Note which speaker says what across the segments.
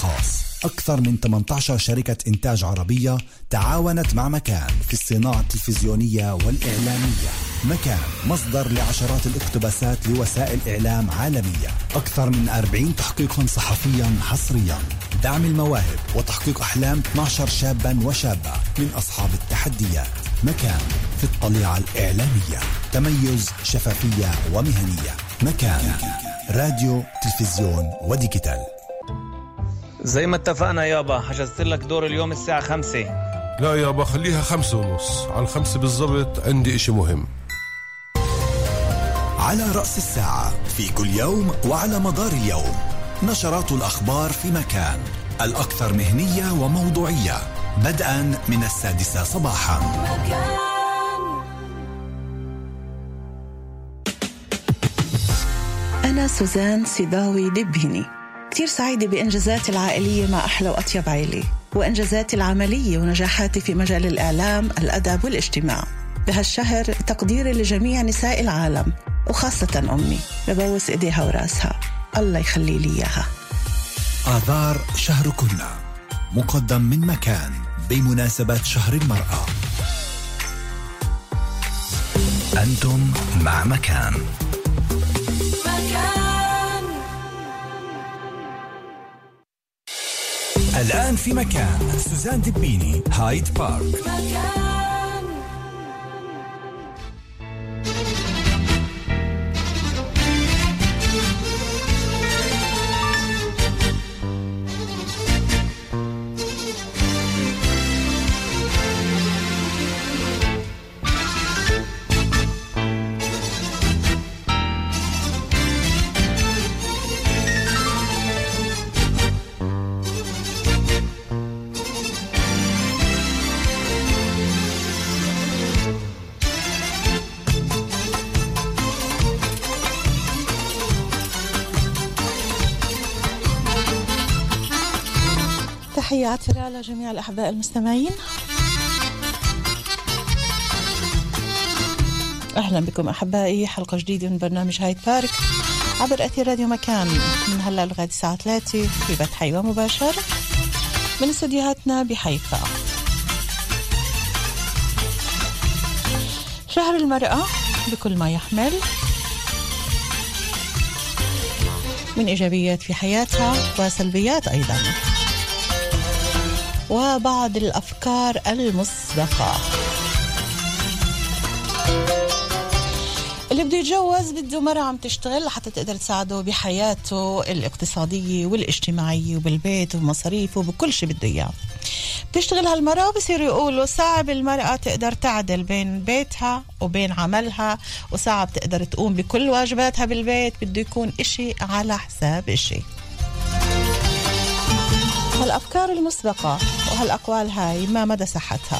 Speaker 1: الخاص. أكثر من 18 شركة إنتاج عربية تعاونت مع مكان في الصناعة التلفزيونية والإعلامية. مكان مصدر لعشرات الاقتباسات لوسائل إعلام عالمية، أكثر من 40 تحقيقا صحفيا حصريا، دعم المواهب وتحقيق أحلام 12 شابا وشابة من أصحاب التحديات. مكان في الطليعة الإعلامية، تميز، شفافية ومهنية. مكان راديو، تلفزيون وديجيتال.
Speaker 2: زي ما اتفقنا يابا، حجزت لك دور اليوم الساعة 5.
Speaker 3: لا يابا خليها 5:30، على 5 بالضبط عندي إشي مهم.
Speaker 1: على رأس الساعة في كل يوم وعلى مدار اليوم، نشرات الأخبار في مكان، الأكثر مهنية وموضوعية، بدءا من 6 صباحا.
Speaker 4: أنا سوزان سيداوي دبيني، كتير سعيدة بإنجازاتي العائلية مع أحلى وأطيب عائلة، وإنجازاتي العملية ونجاحاتي في مجال الإعلام، الأدب والاجتماع. بهالشهر تقديري لجميع نساء العالم وخاصة أمي، ببوس إيديها وراسها، الله يخلي لي إياها.
Speaker 1: آذار شهر كنا، مقدم من مكان بمناسبة شهر المرأة. أنتم مع مكان. الآن في مكان سوزان دبيني، هايد بارك.
Speaker 4: تحياتي لجميع الأحباء المستمعين، أهلا بكم أحبائي، حلقة جديدة من برنامج هايد بارك عبر أثير راديو مكان، من هلا لغاية الساعة 3 في بث حي ومباشر من استديوهاتنا بحيفا. شهر المرأة بكل ما يحمل من إيجابيات في حياتها وسلبيات أيضا، وبعض الأفكار المسبقة. اللي بده يتجوز بده مرة عم تشتغل لحتى تقدر تساعده بحياته الاقتصادية والاجتماعية وبالبيت ومصاريفه وبكل شيء بده إياه. بتشتغل هالمرأة وبصير يقولوا صعب المرأة تقدر تعدل بين بيتها وبين عملها، وصعب تقدر تقوم بكل واجباتها بالبيت، بده يكون إشي على حساب إشي. هالأفكار المسبقة وهالأقوال هاي ما مدى صحتها؟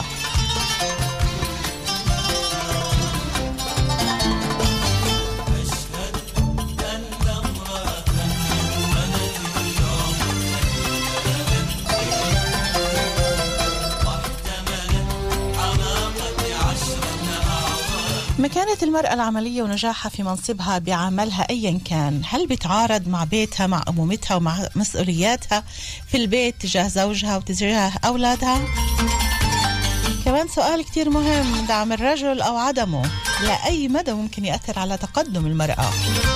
Speaker 4: مكانة المرأة العملية ونجاحها في منصبها بعملها أيا كان، هل بتعارض مع بيتها، مع أمومتها ومع مسؤولياتها في البيت تجاه زوجها وتجاه أولادها؟ كمان سؤال كتير مهم، دعم الرجل أو عدمه لأي مدى ممكن يأثر على تقدم المرأة؟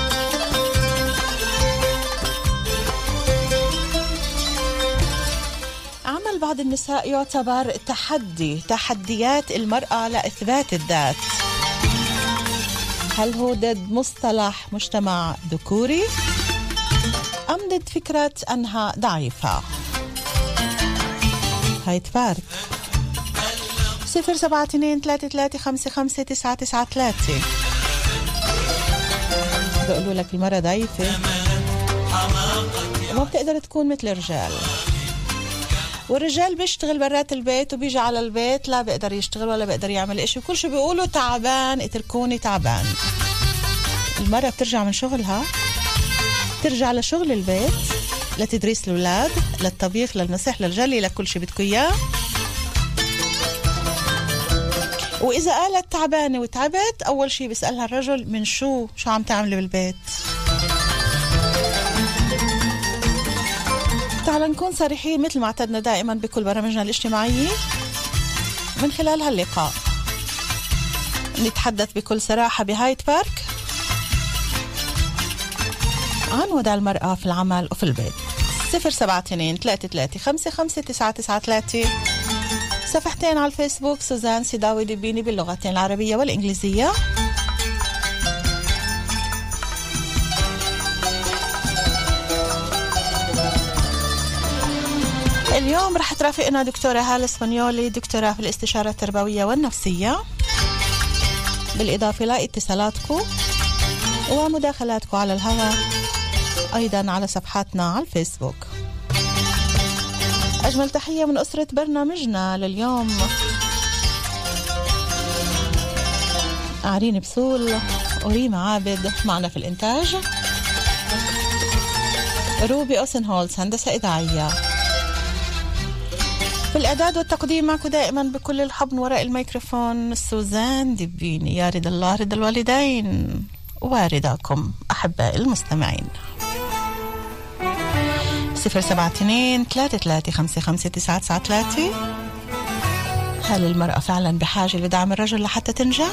Speaker 4: عمل بعض النساء يعتبر تحديات المرأة لإثبات الذات. هل هو ضد مصطلح مجتمع ذكوري أم ضد فكرة أنها ضعيفة؟ هاي تفارق 072-3355-5993. بقولوا لك المرأة ضعيفة وما بتقدر تكون مثل الرجال، والرجال بيشتغل برات البيت وبيجي على البيت لا بيقدر يشتغل ولا بيقدر يعمل إشي، وكل شو بيقولوا تعبان، اتركوني تعبان. المرأة بترجع من شغلها، ترجع لشغل البيت، لتدريس الأولاد، للطبيخ، للمسح، للجلي، لكل شي بدكوا إياه. وإذا قالت تعبانة وتعبت، أول شي بيسألها الرجل من شو عم تعملي بالبيت. تعال نكون صريحين مثل ما اعتدنا دائما بكل برامجنا الاجتماعية من خلال هاللقاء. نتحدث بكل صراحة بهايد بارك عن وضع المرأة في العمل وفي البيت. 072-33-55-993. صفحتين على الفيسبوك سوزان سيداوي دبيني باللغتين العربية والإنجليزية. اليوم رح ترافقنا دكتورة هالة اسبانيولي، دكتورة في الاستشارة التربوية والنفسية، بالإضافة لاتصالاتكم ومداخلاتكم على الهواء أيضا على صفحاتنا على الفيسبوك. أجمل تحية من أسرة برنامجنا لليوم: عرين بسول وريما عابد معنا في الإنتاج، روبي أوسنهولز هندسة إذاعية، في الإعداد والتقديم معكم دائما بكل الحب وراء الميكروفون سوزان دبيني. يا رضا الله رضا الوالدين ورضاكم أحباء المستمعين. 072-33-55-993. هل المرأة فعلا بحاجة لدعم الرجل لحتى تنجح؟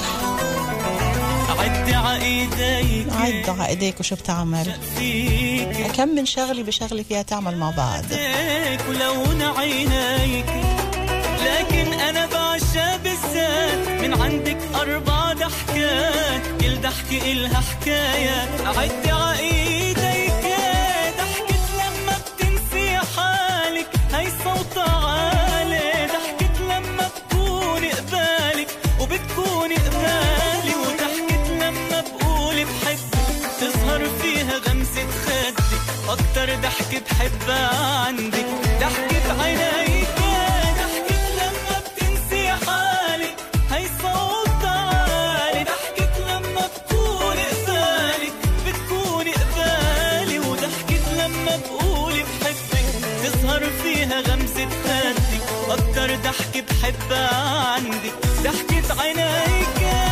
Speaker 4: عد عقديك وشو بتعمل؟ كم من شغلي بشغلي فيها تعمل مع بعض.
Speaker 5: ولون عينيك لكن أنا بعشق بالذات من عندك 4 ضحكات، كل ضحكة إلها حكاية. عد عقيديك ضحكت لما بتنسي حالك، هي صوت عالي. ضحكت لما بكوني قبالك وبتكوني قبالي، وضحكت لما بقول بحبك تظهر فيها غمزة خدك. أكتر ضحكة بحبها عندك ضحكة عينيك، ضحكت لما بتنسي حالك، هي صوت عالي. ضحكت لما بكوني قبالك بتكوني قبالي، وضحكت لما بقول بحبك تظهر فيها غمزة خدك. أكتر ضحكة بحبها عندك ضحكة عينيك.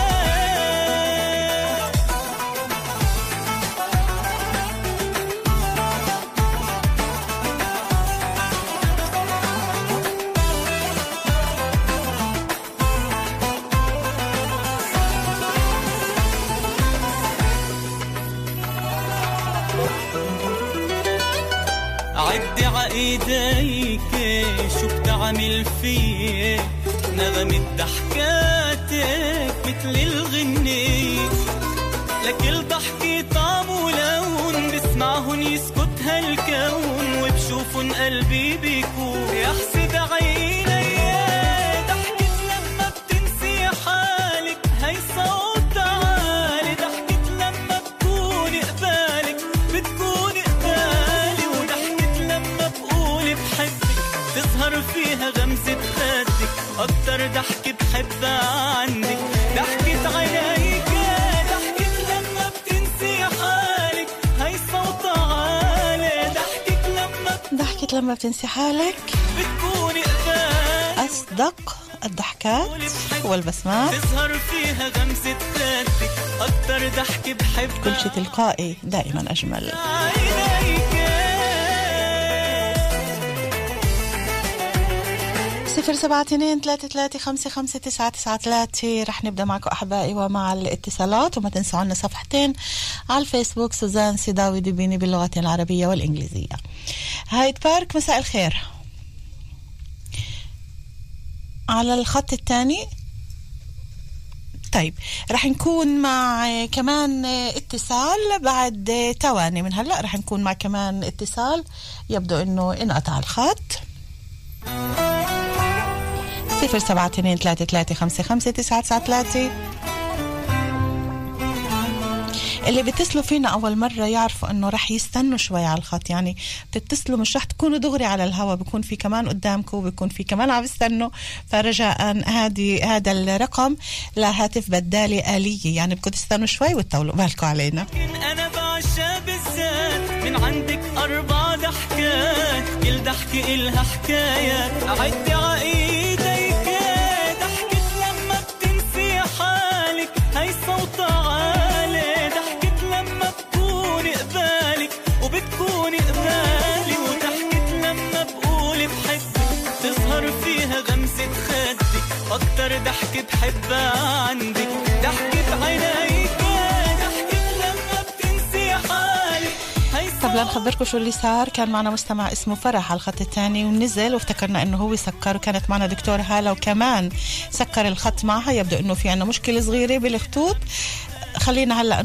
Speaker 5: عدي عايديك شو بتعمل فيه، نغمة ضحكاتك مثل الغنية، لكل ضحكة طعم ولون بسمعهن يسكت هالكون، وبشوفن قلبي بيكون يحسد عيني. ضحكت لما بتنسي حالك، هي صوت عالي. ضحكت لما بكوني قبالك بتكوني قبالي، وضحكت لما بقول بحبك تظهر فيها غمزة خدك. أكتر ضحكة بحبها عندك ضحكة عينيك، ضحكت لما بتنسي حالك، هي صوت عالي.
Speaker 4: ضحكت لما بتنسي حالك
Speaker 5: بتكوني قبالي،
Speaker 4: أصدق الضحكات والبسمات،
Speaker 5: تظهر فيها غمزة خدك. أكتر ضحكة بحبها،
Speaker 4: كل شيء تلقائي دائما أجمل.
Speaker 5: عينيك.
Speaker 4: 072-33-55-993. رح نبدأ معكم أحبائي ومع الاتصالات، وما تنسوا عنا صفحتين على الفيسبوك سوزان سيداوي دبيني باللغتين العربية والإنجليزية. هايد بارك مساء الخير. على الخط الثاني. طيب رح نكون مع كمان اتصال بعد تواني من هلأ. رح نكون مع كمان اتصال، يبدو انه انقطع الخط. 072-33-55-993. اللي بيتصلوا فينا أول مرة يعرفوا أنه رح يستنوا شوي على الخط، يعني بتتصلوا مش رح تكونوا دغري على الهواء، بيكون في كمان قدامكم وبيكون في كمان عم يستنوا. فرجاء هذا الرقم لهاتف بدالي آلية، يعني بدكم تستنوا شوي وتطولوا بالكم علينا.
Speaker 5: أنا بعشق بالذات من عندك 4 ضحكات، كل ضحكة إلها حكاية. عدي عقيديك ضحكت لما بتنسي حالك، هي صوت عالي. ضحكت لما بكوني قبالك وبتكوني قبالي، وضحكت لما أكتر فيها غمسة خدك، أكتر ضحكة بحبها عندك، ضحكة عينيك، ضحكة لما بتنسي حالك.
Speaker 4: طب لنخبركم شو اللي صار. كان معنا مستمع اسمه فرح على الخط الثاني ونزل، وافتكرنا انه هو سكر، وكانت معنا دكتورة هالة وكمان سكر الخط معها. يبدو انه في عنا مشكلة صغيرة بالخطوط. خلينا هلأ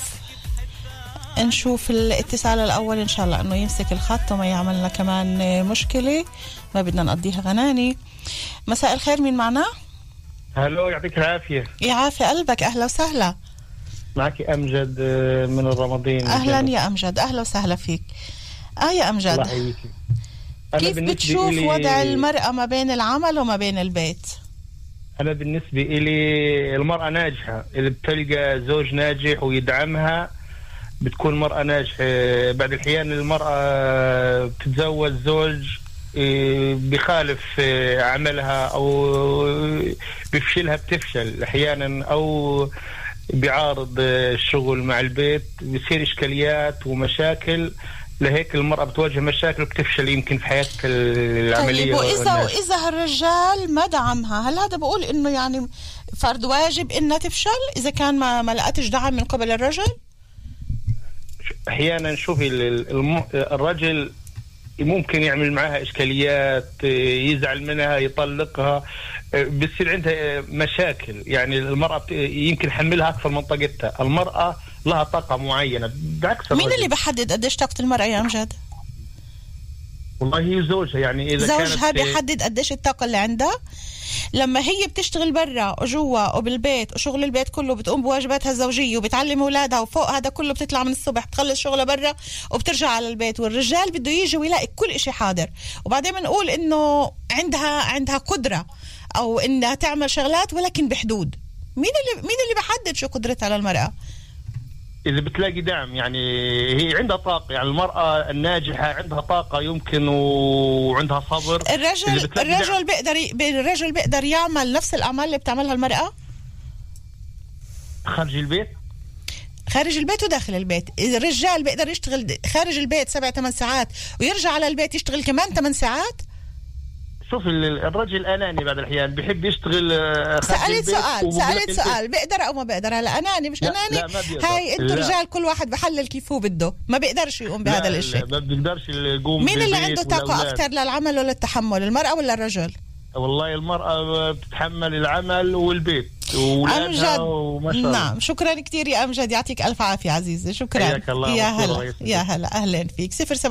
Speaker 4: نشوف الاتصال الأول إن شاء الله أنه يمسك الخط وما يعملنا كمان مشكلة، ما بدنا نقضيها غناني. مساء الخير، مين معنا؟
Speaker 6: هلو، يعطيك العافية.
Speaker 4: يعافي قلبك، أهلا وسهلا.
Speaker 6: معك أمجد من الرمضين.
Speaker 4: أهلا يا أمجد، أهلا وسهلا فيك. يا أمجد، كيف بتشوف وضع المرأة ما بين العمل وما بين البيت؟
Speaker 6: أنا بالنسبة إلي المرأة ناجحة، اللي بتلقى زوج ناجح ويدعمها بتكون مرأة ناجحة. بعد الحيان المرأة بتتزوج زوج بخالف عملها أو بفشلها، بتفشل أحيانا أو بيعارض الشغل مع البيت، بيصير إشكاليات ومشاكل. لهيك المرأة بتواجه مشاكل وبتفشل يمكن في حياتها العملية.
Speaker 4: طيب، وإذا الرجال ما دعمها، هل هذا بقول إنه يعني فرض واجب إنها تفشل إذا كان ما لقتش دعم من قبل الرجل؟
Speaker 6: أحيانا شوفي الرجل ممكن يعمل معها إشكاليات، يزعل منها، يطلقها، بتصير عندها مشاكل. يعني المرأة يمكن حملها أكثر من طاقتها. المرأة لها طاقة معينة بعكس الرجل.
Speaker 4: مين اللي بحدد قديش طاقة المرأة يا أمجد؟
Speaker 6: والله هي زوجها، يعني إذا
Speaker 4: زوجها بيحدد قديش الطاقة اللي عندها. لما هي بتشتغل برا وجوا وبالبيت وشغل البيت كله، بتقوم بواجباتها الزوجية وبتعلم أولادها، وفوق هذا كله بتطلع من الصبح بتخلص شغلها برا وبترجع على البيت. والرجال بده يجي ويلاقي كل إشي حاضر، وبعدين بنقول إنه عندها قدرة أو إنها تعمل شغلات ولكن بحدود. مين اللي بحدد شو قدرتها على المرأة؟
Speaker 6: إذا بتلاقي دعم، يعني هي عندها طاقة. يعني المرأة الناجحة عندها طاقة يمكن وعندها صبر.
Speaker 4: الرجل بيقدر يعمل نفس الأعمال اللي بتعملها المرأة
Speaker 6: خارج البيت
Speaker 4: وداخل البيت. إذا الرجال بيقدر يشتغل خارج البيت 7-8 ساعات ويرجع على البيت يشتغل كمان 8 ساعات.
Speaker 6: شوف الرجل أناني بعد الأحيان، بيحب يشتغل
Speaker 4: سألت سؤال بيقدر أو ما بيقدر؟ هلا أناني مش أناني؟ هاي أنتوا رجال كل واحد بحلل كيف هو بده، ما بيقدرش يقوم بهذا الشيء.
Speaker 6: ما بيقدرش يقوم.
Speaker 4: مين اللي عنده طاقة أكثر للعمل ولا التحمل، المرأة ولا الرجل؟
Speaker 6: والله المرأة بتتحمل العمل والبيت وولادها وما شاء الله.
Speaker 4: نعم، شكرا كتير يا أمجد، يعطيك ألف عافية عزيزي. شكرا يا هلا أهلا فيك.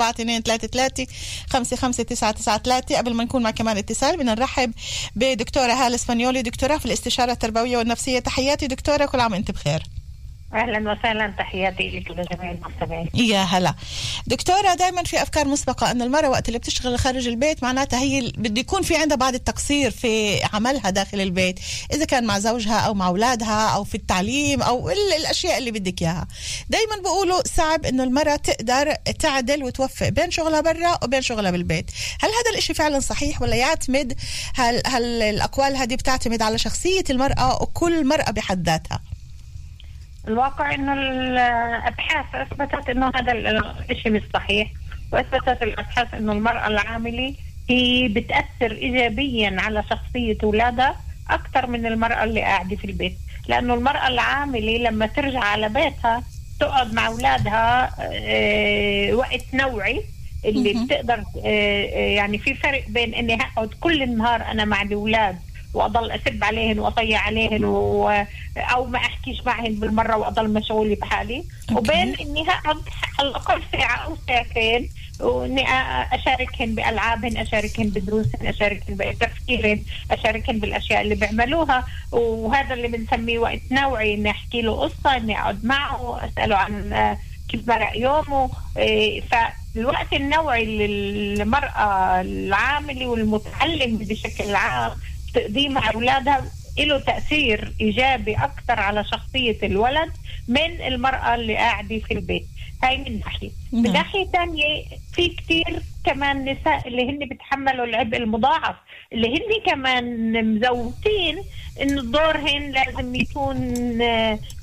Speaker 4: 0722335599. قبل ما نكون مع كمان اتصال بدنا نرحب بدكتورة هالة اسبانيولي، دكتورة في الاستشارة التربوية والنفسية. تحياتي دكتورة، كل عام وانت بخير.
Speaker 7: أهلا وسهلا، تحياتي لك ولجميع المستمعين.
Speaker 4: يا هلا دكتورة. دائما في أفكار مسبقة أن المرأة وقت اللي بتشتغل خارج البيت معناتها هي بده يكون في عندها بعض التقصير في عملها داخل البيت، إذا كان مع زوجها أو مع أولادها أو في التعليم أو الأشياء اللي بدك إياها. دائما بقولوا صعب إنه المرأة تقدر تعدل وتوفق بين شغلها برا وبين شغلها بالبيت. هل هذا الإشي فعلا صحيح ولا يعتمد هل الأقوال هذه بتعتمد على شخصية المرأة وكل مرأة بحد ذاتها؟
Speaker 7: الواقع انه الابحاث اثبتت انه هذا الشيء مش صحيح، واثبتت الابحاث انه المرأة العاملة هي بتأثر ايجابيا على شخصية اولادها اكثر من المرأة اللي قاعدة في البيت. لانه المرأة العاملة لما ترجع على بيتها تقعد مع اولادها وقت نوعي اللي بتقدر يعني في فرق بين اني هقعد كل النهار انا مع الاولاد واضل اسب عليهن واطيع عليهن او ما احكيش معهن بالمره واضل مشغوله بحالي، وبين اني هقعد على الاقل ساعه او ساعتين واني اشاركهن بالعابهن، اشاركهن بدروسهن، اشاركهن بتفكيرهن، اشاركهن بالاشياء اللي بيعملوها. وهذا اللي بنسميه وقت نوعي، اني احكي له قصه، اني اقعد معه اساله عن كيف مرق يومه. فالوقت النوعي للمراه العامله والمتعلم بشكل عام تقديم مع أولادها له تأثير إيجابي أكثر على شخصية الولد من المرأة اللي قاعدة في البيت. هاي من ناحية. من ناحية تانية في كتير كمان نساء اللي هن بتحملوا العبء المضاعف، اللي هن كمان مزوتين إن دورهن لازم يكون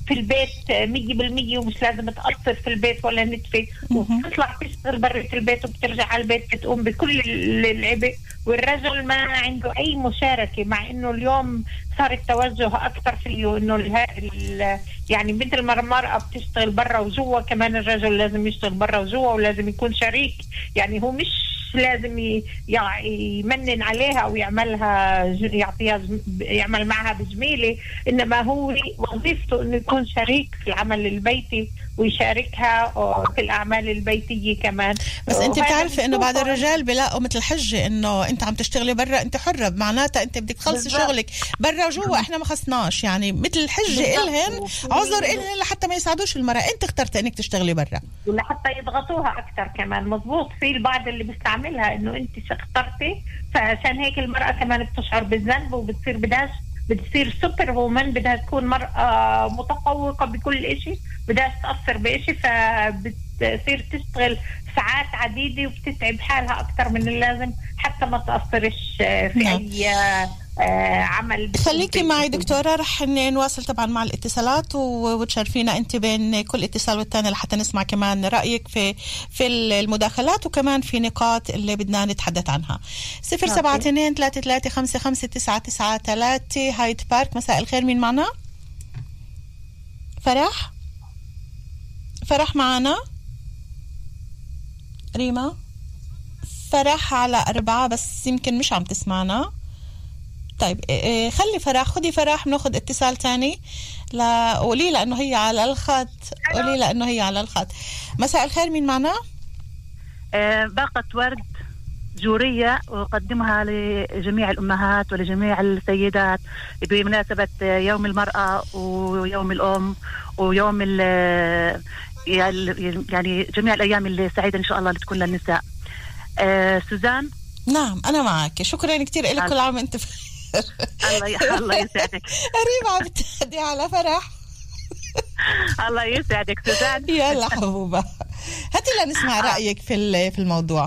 Speaker 7: في البيت 100% ومش لازم تقصر في البيت ولا نتفة، وبتطلع تشتغل برا البيت وبترجع على البيت بتقوم بكل العبء، والرجل ما عنده أي مشاركة، مع إنه اليوم صار التوجه أكثر فيه إنه يعني مثل ما المرأة بتشتغل برا وجوا، كمان الرجل لازم يشتغل برا وجوا ولازم يكون شريك. يعني هو مش لازم يمنن عليها أو يعملها يعمل معها بجميلة، إنما هو وظيفته إنه يكون شريك في العمل البيتي ويشاركها في الأعمال البيتية كمان.
Speaker 4: بس أنت بتعرفي إنه بعض الرجال بيلاقوا مثل حجة إنه أنت عم تشتغلي برا أنت حرة، معناتها أنت بدك تخلصي شغلك برا وجوا، إحنا ما خصناش، يعني مثل الحجة إلهن عذر إلهن لحتى ما يساعدوش المرأة. أنت اخترت إنك تشتغلي برا
Speaker 7: ولحتى يضغطوها أكثر كمان. مظبوط، في البعض اللي بيستعملها إنه أنت اخترتي، فعشان هيك المرأة كمان بتشعر بالذنب بتصير سوبر وومن، بدها تكون مرأة متفوقة بكل إشي، بدها تأثر بإشي، فبتصير تشتغل ساعات عديدة وبتتعب حالها أكتر من اللازم حتى ما تأثرش في أي عمل.
Speaker 4: خليكي معي دكتورة، رح نواصل طبعا مع الاتصالات وتشرفينا انت بين كل اتصال والتاني لحتى نسمع كمان رأيك في المداخلات وكمان في نقاط اللي بدنا نتحدث عنها. 072-3355-993 هايد بارك. مساء الخير، مين معنا؟ فرح معنا؟ ريما؟ فرح على 4 بس يمكن مش عم تسمعنا. طيب خلي فرح، خدي فرح، بناخد اتصال تاني. لا قولي لأنه هي على الخط، قولي لأنه هي على الخط. مساء الخير، مين معنا؟
Speaker 8: باقة ورد جورية أقدمها لجميع الأمهات ولجميع السيدات بمناسبة يوم المرأة ويوم الأم ويوم يعني جميع الأيام السعيدة إن شاء الله اللي تكون للنساء. سوزان.
Speaker 4: نعم أنا معك، شكرا كتير لك، كل عام أنت
Speaker 8: الله يسعدك.
Speaker 4: ريما عم بتهدي على فرح.
Speaker 8: الله يسعدك سوزان.
Speaker 4: يلا حبوبة، هاتي لنسمع رأيك في الموضوع.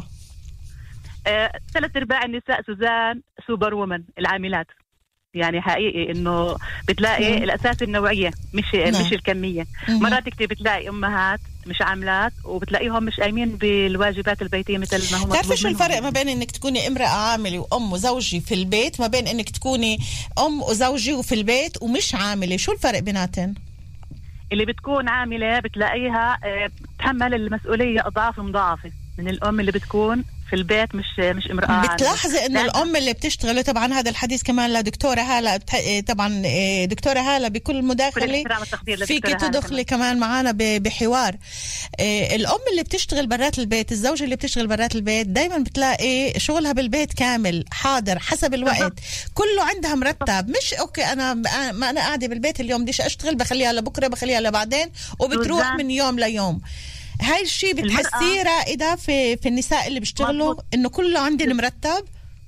Speaker 8: 3/4 النساء سوزان سوبر وومن، العاملات. يعني حقيقي انه بتلاقي الاساس النوعيه مش الكميه. مرات كتير بتلاقي امهات مش عاملات وبتلاقيهم مش قايمين بالواجبات البيتيه مثل ما هم.
Speaker 4: تعرفي شو الفرق ما بين انك تكوني امراه عامله وام وزوجي في البيت، ما بين انك تكوني ام وزوجي وفي البيت ومش عامله؟ شو الفرق بيناتن؟
Speaker 8: اللي بتكون عامله بتلاقيها بتحمل المسؤوليه اضعاف مضاعفه من الام اللي بتكون في البيت مش امرأة.
Speaker 4: بتلاحظي انه الام اللي بتشتغل، طبعا هذا الحديث كمان لدكتورة هالة، طبعا دكتورة هالة بكل مداخلة فيك تدخلي كمان معنا بحوار. الام اللي بتشتغل برات البيت، الزوجة اللي بتشتغل برات البيت، دايما بتلاقي شغلها بالبيت كامل حاضر حسب الوقت، كله عندها مرتب، مش اوكي انا قاعدة بالبيت اليوم بديش اشتغل بخليها لبكرة بخليها لبعدين، وبتروح من يوم ليوم. هاي الشيء بتحسيه رائدة في النساء اللي بيشتغلوا انه كله عندنا مرتب؟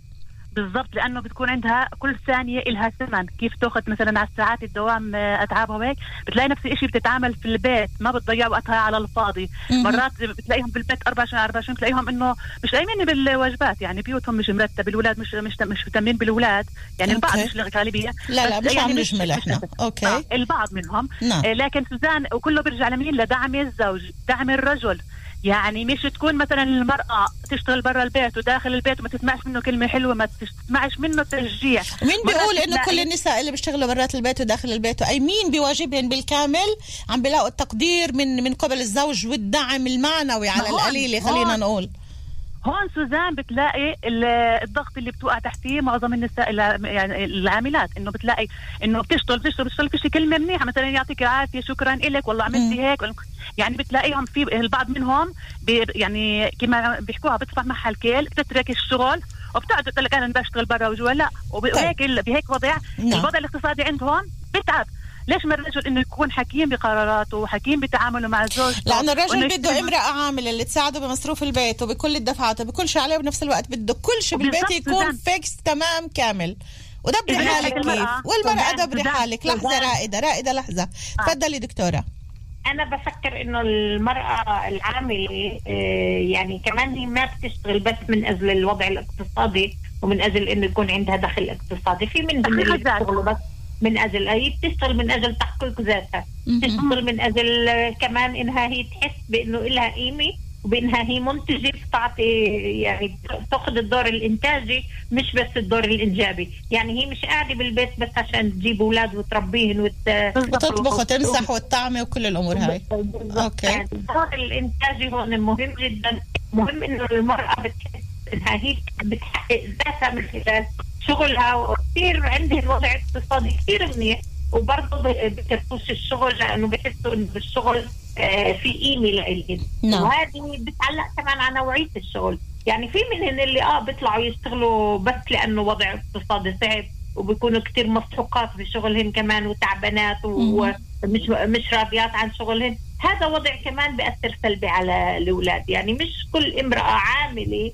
Speaker 8: بالضبط، لانه بتكون عندها كل ثانيه إلها ثمن، كيف تاخذ مثلا على الساعات الدوام اتعابها وهيك، بتلاقي نفس الشيء بتتعامل في البيت، ما بتضيع وقتها على الفاضي. مرات بتلاقيهم بالبيت 24 بتلاقيهم انه مش قايمين بالواجبات، يعني بيوتهم مش مرتب، الولاد مش مهتمين بالولاد، يعني البعض مش الغالبيه،
Speaker 4: لا مش
Speaker 8: يعني
Speaker 4: عم نجمل احنا اوكي
Speaker 8: البعض منهم. لكن سوزان وكله بيرجع لمين؟ لدعم الزوج، دعم الرجل. يعني مش تكون مثلا المرأة تشتغل برا البيت وداخل البيت وما تسمعش منه كلمة حلوة، ما تسمعش منه تشجيع.
Speaker 4: مين بيقول انه كل النساء اللي بيشتغلوا برات البيت وداخل البيت مين بيواجبهم بالكامل عم بيلاقوا التقدير من قبل الزوج والدعم المعنوي على القليلة؟ خلينا نقول
Speaker 8: هون سوزان بتلاقي الضغط اللي بتوقع تحتيه معظم النساء يعني العاملات، انه بتلاقي انه بتشتغل فيش كلمه منيحه، مثلا يعطيك العافيه شكرا لك والله عملتي هيك، يعني بتلاقيهم في البعض منهم يعني كما بيحكوها بتصفح معها الكيل، بتترك الشغل وبتقعد تقول لك انا بشتغل برا وجوا، لا وهيك بهيك وضع الوضع الاقتصادي عندهم بتعب. ليش ما الرجل انه يكون حكيم بقراراته وحكيم بتعامله مع الزوج؟
Speaker 4: لانه الرجل بده امرأة عاملة اللي تساعده بمصروف البيت وبكل الدفعات وبكل شيء عليه، وبنفس الوقت بده كل شيء بالبيت يكون فيكس تمام كامل. ودبري حالك كيف، والمرأة دبري حالك. لحظة رائدة لحظة، تفضلي دكتورة.
Speaker 7: أنا بفكر إنه المرأة العاملة يعني كمان هي ما بتشتغل بس من أجل الوضع الاقتصادي ومن أجل إنه يكون عندها دخل اقتصادي، في منهم اللي بيشتغلوا بس من أجل هي بتشتغل من أجل تحقيق ذاتها، بتشتغل من أجل كمان إنها هي تحس بإنه إلها قيمة وبإنها هي منتجة بتعطي يعني تأخذ الدور الإنتاجي مش بس الدور الإنجابي. يعني هي مش قاعدة بالبيت بس عشان تجيب أولاد وتربيهن
Speaker 4: وتطبخ وتمسح والطعمة وكل الأمور هاي. أوكي.
Speaker 7: يعني الدور الإنتاجي هون مهم جدا. مهم إنه المرأة بتحس إنها هي بتحقق ذاتها من خلال شغلها، وكثير عندهم وضع اقتصادي كثير منيح وبرضه بكرفوش الشغل لأنه بحسوا إنه بالشغل في قيمة لإلهم. وهذه بتعلق كمان على نوعية الشغل. يعني في منهم اللي بيطلعوا يشتغلوا بس لأنه وضع اقتصادي صعب وبيكونوا كتير مسحوقات بشغلهم كمان وتعبانات ومش راضيات عن شغلهم. هذا وضع كمان بيأثر سلبي على الأولاد. يعني مش كل امرأة عاملة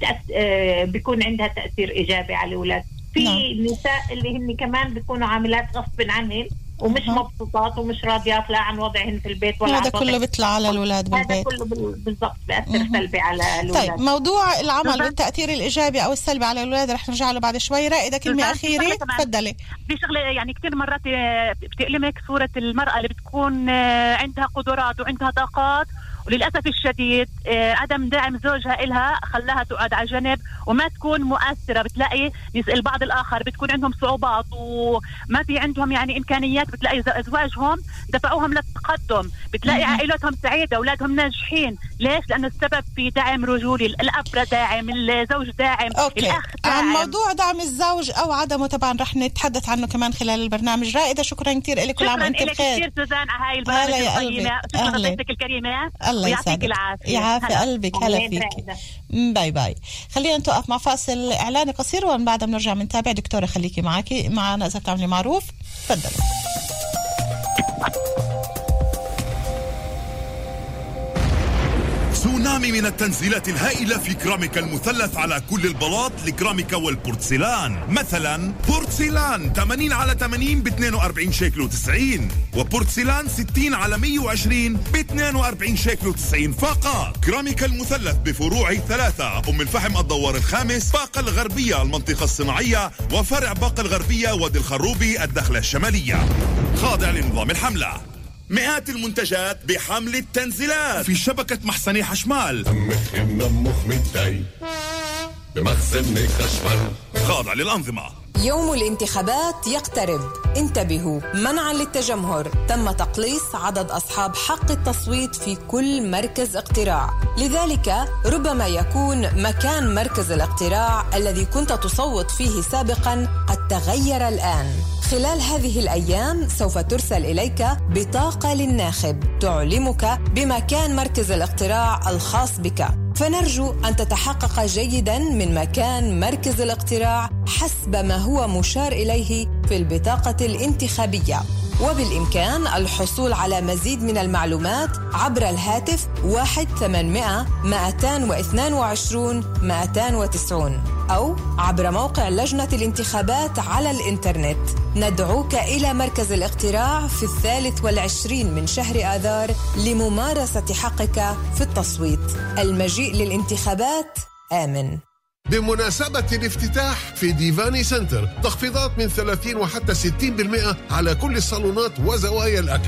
Speaker 7: بيكون عندها تأثير إيجابي على الأولاد. في نساء اللي هن كمان بيكونوا عاملات غصب عنهن ومش مبسوطات ومش راضيات لا عن وضعهن في البيت ولا
Speaker 4: هذا كله بيطلع على الأولاد بالبيت.
Speaker 7: هذا كله بالضبط بيأثر سلبي على الأولاد.
Speaker 4: طيب موضوع العمل والتأثير الإيجابي أو السلبي على الأولاد رح نرجع له بعد شوي. رائدة كلمة أخيرة تفضلي.
Speaker 8: في شغلة يعني كتير مرات بتألمك صورة المرأة اللي بتكون عندها قدرات وعندها طاقات، وللأسف الشديد عدم دعم زوجها إلها خلاها تقعد على جنب وما تكون مؤثرة. بتلاقي البعض الآخر بتكون عندهم صعوبات وما في عندهم يعني إمكانيات، بتلاقي أزواجهم دفعوهم للتقدم، بتلاقي عائلتهم سعيدة، أولادهم ناجحين. ليش؟ لأنه السبب في دعم رجولي. الأب داعم، الزوج داعم، الأخ داعم.
Speaker 4: عن موضوع دعم الزوج أو عدمه طبعا رح نتحدث عنه كمان خلال البرنامج. رائدة شكرا كتير لك، كل عام وانت بخير.
Speaker 8: شكرا لك كتير سوزان على هاي البرامج القيمة. شكرا لضيفتك الكريمة،
Speaker 4: الله يعطيك العافية. يعافي قلبك. هلا فيك. باي باي. خلينا نتوقف مع فاصل إعلاني قصير ومن بعد بنرجع بنتابع. دكتورة خليكي معنا إذا بتعملي معروف. تفضلي.
Speaker 9: تسونامي من التنزيلات الهائلة في كراميكا المثلث على كل البلاط لكراميكا والبورتسلان. مثلا بورتسلان 80 على 80 ب 42 شيكل و90، وبورتسلان 60 على 120 ب 42 شيكل و90 فقط. كراميكا المثلث بفروعه 3: أم الفحم الدوار الخامس، باقة الغربية المنطقة الصناعية، وفرع باقة الغربية وادي الخروبي الدخلة الشمالية. خاضع لنظام الحملة. مئات المنتجات بحمل التنزيلات في شبكة محسني حشمال. بمخزن خشمال. خاضع للأنظمة.
Speaker 10: يوم الانتخابات يقترب، انتبهوا منعا للتجمهر. تم تقليص عدد أصحاب حق التصويت في كل مركز اقتراع، لذلك ربما يكون مكان مركز الاقتراع الذي كنت تصوت فيه سابقا قد تغير الآن. خلال هذه الأيام سوف ترسل إليك بطاقة للناخب تعلمك بمكان مركز الاقتراع الخاص بك، فنرجو أن تتحقق جيداً من مكان مركز الاقتراع حسب ما هو مشار إليه في البطاقة الانتخابية. وبالإمكان الحصول على مزيد من المعلومات عبر الهاتف 1-800-222-290 أو عبر موقع لجنة الانتخابات على الإنترنت. ندعوك إلى مركز الاقتراع في 23 من شهر آذار لممارسة حقك في التصويت. المجيء للانتخابات آمن.
Speaker 3: بمناسبة الافتتاح في ديفاني سنتر تخفيضات من 30 وحتى 60% على كل الصالونات وزوايا الأكل.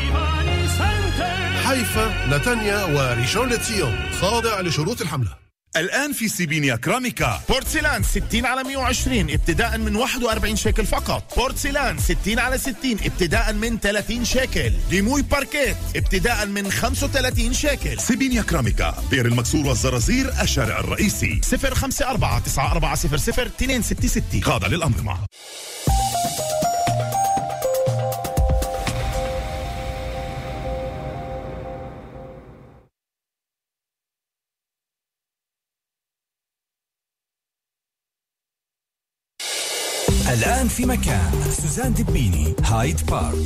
Speaker 3: حيفا، نتانيا وريشون لتسيون، خاضع لشروط الحملة.
Speaker 9: الآن في سيبينيا كراميكا
Speaker 11: بورتسلان 60 على 120 ابتداء من 41 شيكل فقط. بورتسلان 60 على 60 ابتداء من 30 شيكل. ديموي باركيت ابتداء من 35 شيكل.
Speaker 9: سيبينيا كراميكا، بير المكسور والزرازير، الشارع الرئيسي.
Speaker 11: 054-9400-266.
Speaker 9: خاضع للأنظمة.
Speaker 1: الآن في مكان سوزان دبيني، هايد بارك.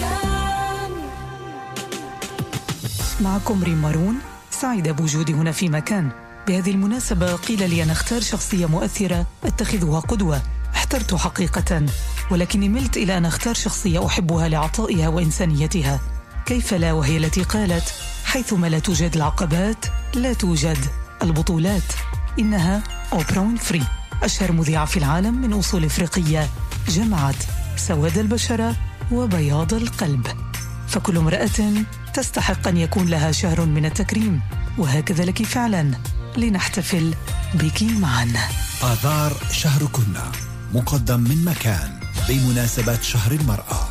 Speaker 12: معكم ريم مارون، سعيدة بوجودي هنا في مكان. بهذه المناسبة قيل لي أن أختار شخصية مؤثرة أتخذها قدوة. احترت حقيقة، ولكني ملت إلى أن أختار شخصية أحبها لعطائها وإنسانيتها. كيف لا وهي التي قالت: حيثما لا توجد العقبات لا توجد البطولات. إنها أوبرا وينفري، أشهر مذيعة في العالم من أصول إفريقية، جمعت سواد البشرة وبياض القلب. فكل امرأة تستحق أن يكون لها شهر من التكريم، وهكذا لك فعلا، لنحتفل بك معا.
Speaker 1: آذار شهركن مقدم من مكان بمناسبة شهر المرأة.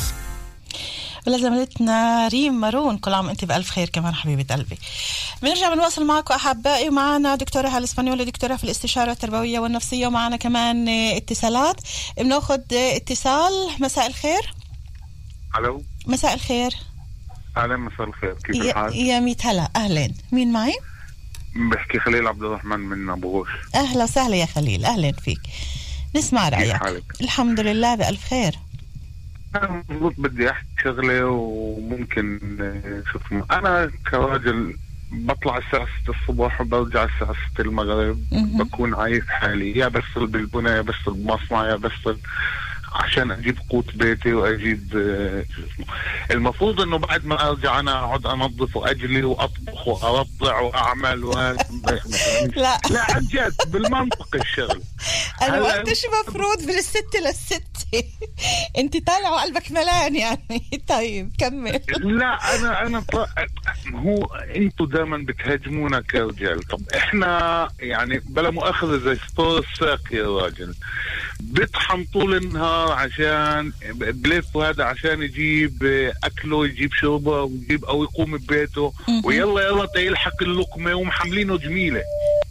Speaker 4: ولزميلتنا ريم مارون، كل عام انت بألف خير كمان حبيبة قلبي. بنرجع بنواصل معكم أحبائي، ومعنا دكتورة هالة اسبانيولي، دكتورة في الاستشارة التربوية والنفسية، ومعنا كمان اتصالات. بناخد اتصال. مساء الخير.
Speaker 13: الو.
Speaker 4: مساء الخير.
Speaker 13: اهلا، مساء الخير، كيف الحال؟
Speaker 4: يا ميت هلا، اهلا. مين معي؟
Speaker 13: بحكي خليل عبد الرحمن من ابو غوش.
Speaker 4: اهلا وسهلا يا خليل، اهلا فيك. نسمع رأيك. الحمد لله بألف خير.
Speaker 13: أنا بدي أحكي شغلة وممكن شوف، أنا كراجل بطلع الساعة 6 الصبح وبرجع الساعة 6 المغرب. بكون عايز حالي، يا بشتغل بالبناء يا بشتغل بمصنع يا بشتغل عشان أجيب قوت بيتي وأجيب المفروض إنه بعد ما أرجع أنا أقعد أنظف وأجلي وأطبخ وأرضع وأعمل لا عن جد بالمنطق الشغل.
Speaker 4: أنا وقتش مفروض من 6 لل6 أنت طالع وقلبك ملان يعني. طيب كمل.
Speaker 13: لا أنا هو أنتوا دائما بتهاجمونا كرجال. طب إحنا يعني بلا مؤاخذة زي ستور الساق يا راجل، بيطحن طول النهار عشان بلف وهذا عشان يجيب أكله يجيب شربه ويجيب أو يقوم ببيته، ويلا يلحق اللقمة ومحملينه جميلة.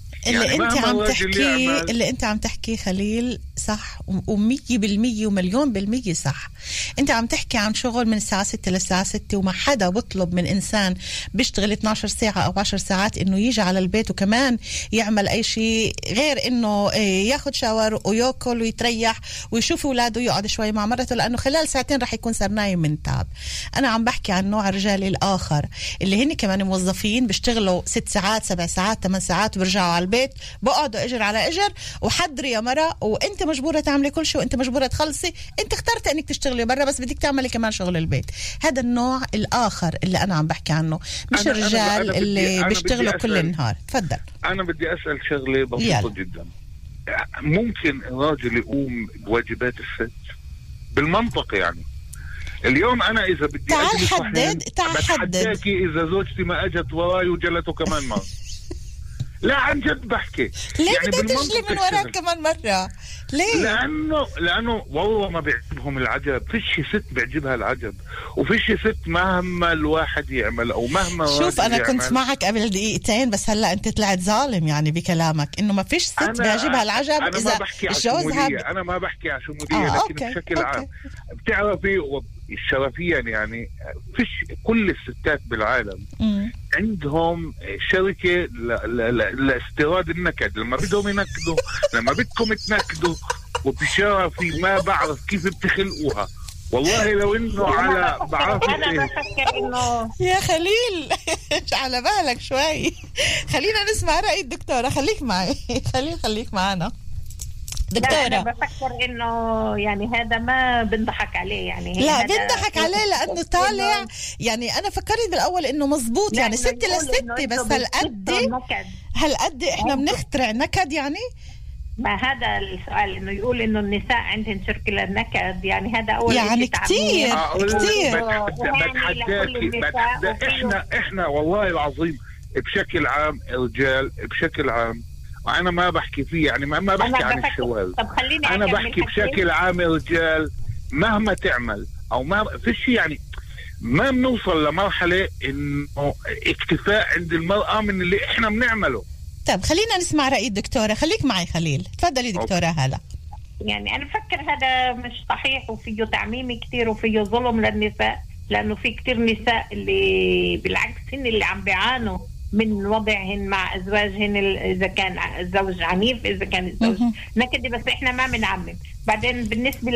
Speaker 4: اللي انت عم تحكي خليل صح، و100% ومليون بالمية صح. انت عم تحكي عن شغل من الساعة 6 للساعة 6، وما حدا بطلب من انسان بيشتغل 12 ساعة او 10 ساعات انه يجي على البيت وكمان يعمل اي شيء غير انه ياخد شاور وياكل ويتريح ويشوف اولاده ويقعد شوي مع مرته، لانه خلال ساعتين رح يكون صار نايم من تعب. انا عم بحكي عن نوع الرجال الاخر اللي هن كمان موظفين بيشتغلوا 6 ساعات 7 ساعات 8 ساعات وبرجعوا على البيت بقعدوا اجر على اجر، وحضري يا مرة وانت مجبورة تعملي كل شيء وانت مجبورة تخلصي. انت اخترت انك تشتغلي برا بس بدك تعملي كمان شغل البيت. هذا النوع الاخر اللي انا عم بحكي عنه، مش الرجال اللي بيشتغلوا كل النهار. تفضل.
Speaker 13: انا بدي اسأل شغلة بسيطة جدا. ممكن الراجل يقوم بواجبات الست بالمنطق؟ يعني اليوم انا اذا بدي
Speaker 4: تعال حدد
Speaker 13: بتحداكي اذا زوجتي ما اجت وراي وجلته كمان مرة. لا عن جد بحكي.
Speaker 4: ليه يعني بدك تجلي من وراك كمان مرة؟ ليه؟
Speaker 13: لأنه والله ما بيعجبهم العجب. فيش ست بيعجبها العجب، وفيش ست مهما الواحد يعمل أو مهما
Speaker 4: شوف أنا كنت معك قبل دقيقتين بس هلا أنت طلعت ظالم يعني بكلامك إنه ما فيش ست بيعجبها العجب.
Speaker 13: أنا ما بحكي عشمودية، أنا ما بحكي عشمودية، لكن بشكل عام بتعرفي شرفيا يعني فيش كل الستات بالعالم عندهم شركة لاستيراد النكد. لما بدهم ينكدوا لما بدكم تنكدوا وبشرفي ما بعرف كيف بتخلقوها. والله لو انه على بعرف
Speaker 7: انا بفكر انه
Speaker 4: يا خليل على بالك شوي. خلينا نسمع رأي الدكتورة. خليك معي خليك معنا دكتورة.
Speaker 7: أنا بفكر إنه يعني هذا ما بنضحك عليه يعني.
Speaker 4: لا بنضحك عليه لأنه طالع يعني. أنا فكرت بالأول إنه مزبوط يعني 6 ل6 بس هالقد إحنا بنخترع نكد يعني.
Speaker 7: ما هذا السؤال إنه يقول إنه النساء عندهن شركة للنكد يعني. هذا أول
Speaker 4: يعني كتير
Speaker 13: إحنا والله العظيم بشكل عام رجال بشكل عام، أنا ما بحكي فيه يعني ما بحكي عن الشواذ. أنا بحكي بشكل عام رجال مهما تعمل أو ما فيش يعني ما بنوصل لمرحلة إنه اكتفاء عند المرأة من اللي إحنا بنعمله.
Speaker 4: طب خلينا نسمع رأي الدكتورة. خليك معي خليل. تفضلي دكتورة هلا.
Speaker 7: يعني أنا بفكر هذا مش صحيح وفيه تعميم كتير وفيه ظلم للنساء، لأنه في كتير نساء اللي بالعكس هن اللي عم بيعانوا من وضعهن مع أزواجهن، إذا كان الزوج عنيف إذا كان الزوج نكدي. بس إحنا ما بنعمم. بعدين بالنسبة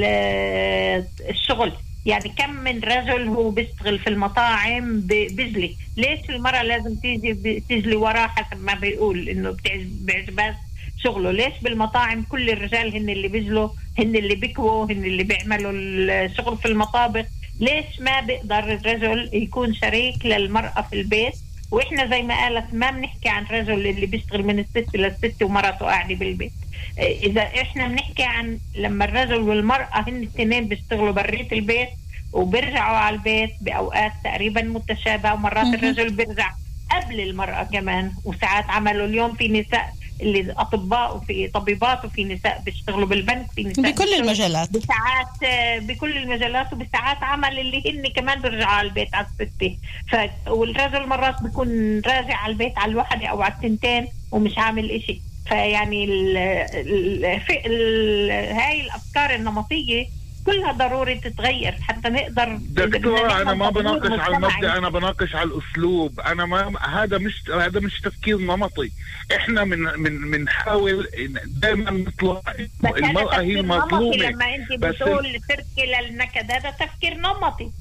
Speaker 7: للشغل يعني كم من رجل هو بيشتغل في المطاعم بيجلي. ليش المرأة لازم تجلي وراه حسب ما بيقول إنه بيعجبها شغله؟ ليش بالمطاعم كل الرجال هن اللي بيجلوا، هن اللي بيكووا، هن اللي بيعملوا الشغل في المطابخ؟ ليش ما بيقدر الرجل يكون شريك للمرأة في البيت؟ وإحنا زي ما قالت ما بنحكي عن رجل اللي بيشتغل من 6 ل6 ومرته قاعدة بالبيت. إذا إحنا بنحكي عن لما الرجل والمرأة هن الاثنين بيشتغلوا بريت البيت وبيرجعوا على البيت بأوقات تقريبا متشابهة، ومرات الرجل بيرجع قبل المرأة كمان، وساعات عملوا اليوم في نساء اللي أطباء وفي طبيبات وفي نساء بيشتغلوا بالبنك، في نساء
Speaker 4: بكل المجالات
Speaker 7: بساعات بكل المجالات وبساعات عمل اللي هن كمان بيرجعوا على البيت على الستة. والرجل مرات بيكون راجع على البيت على الوحدة أو على التنتين ومش عامل إشي. فيعني هاي الأفكار النمطية كلها ضروري تتغير حتى نقدر.
Speaker 13: دكتورة أنا ما بناقش على المبدأ، أنا بناقش على الأسلوب. أنا ما هذا مش تفكير نمطي. إحنا من نحاول دائما نطلع المرأة هي المظلومة.
Speaker 7: لما أنت بتقول تركي للنكد هذا تفكير نمطي.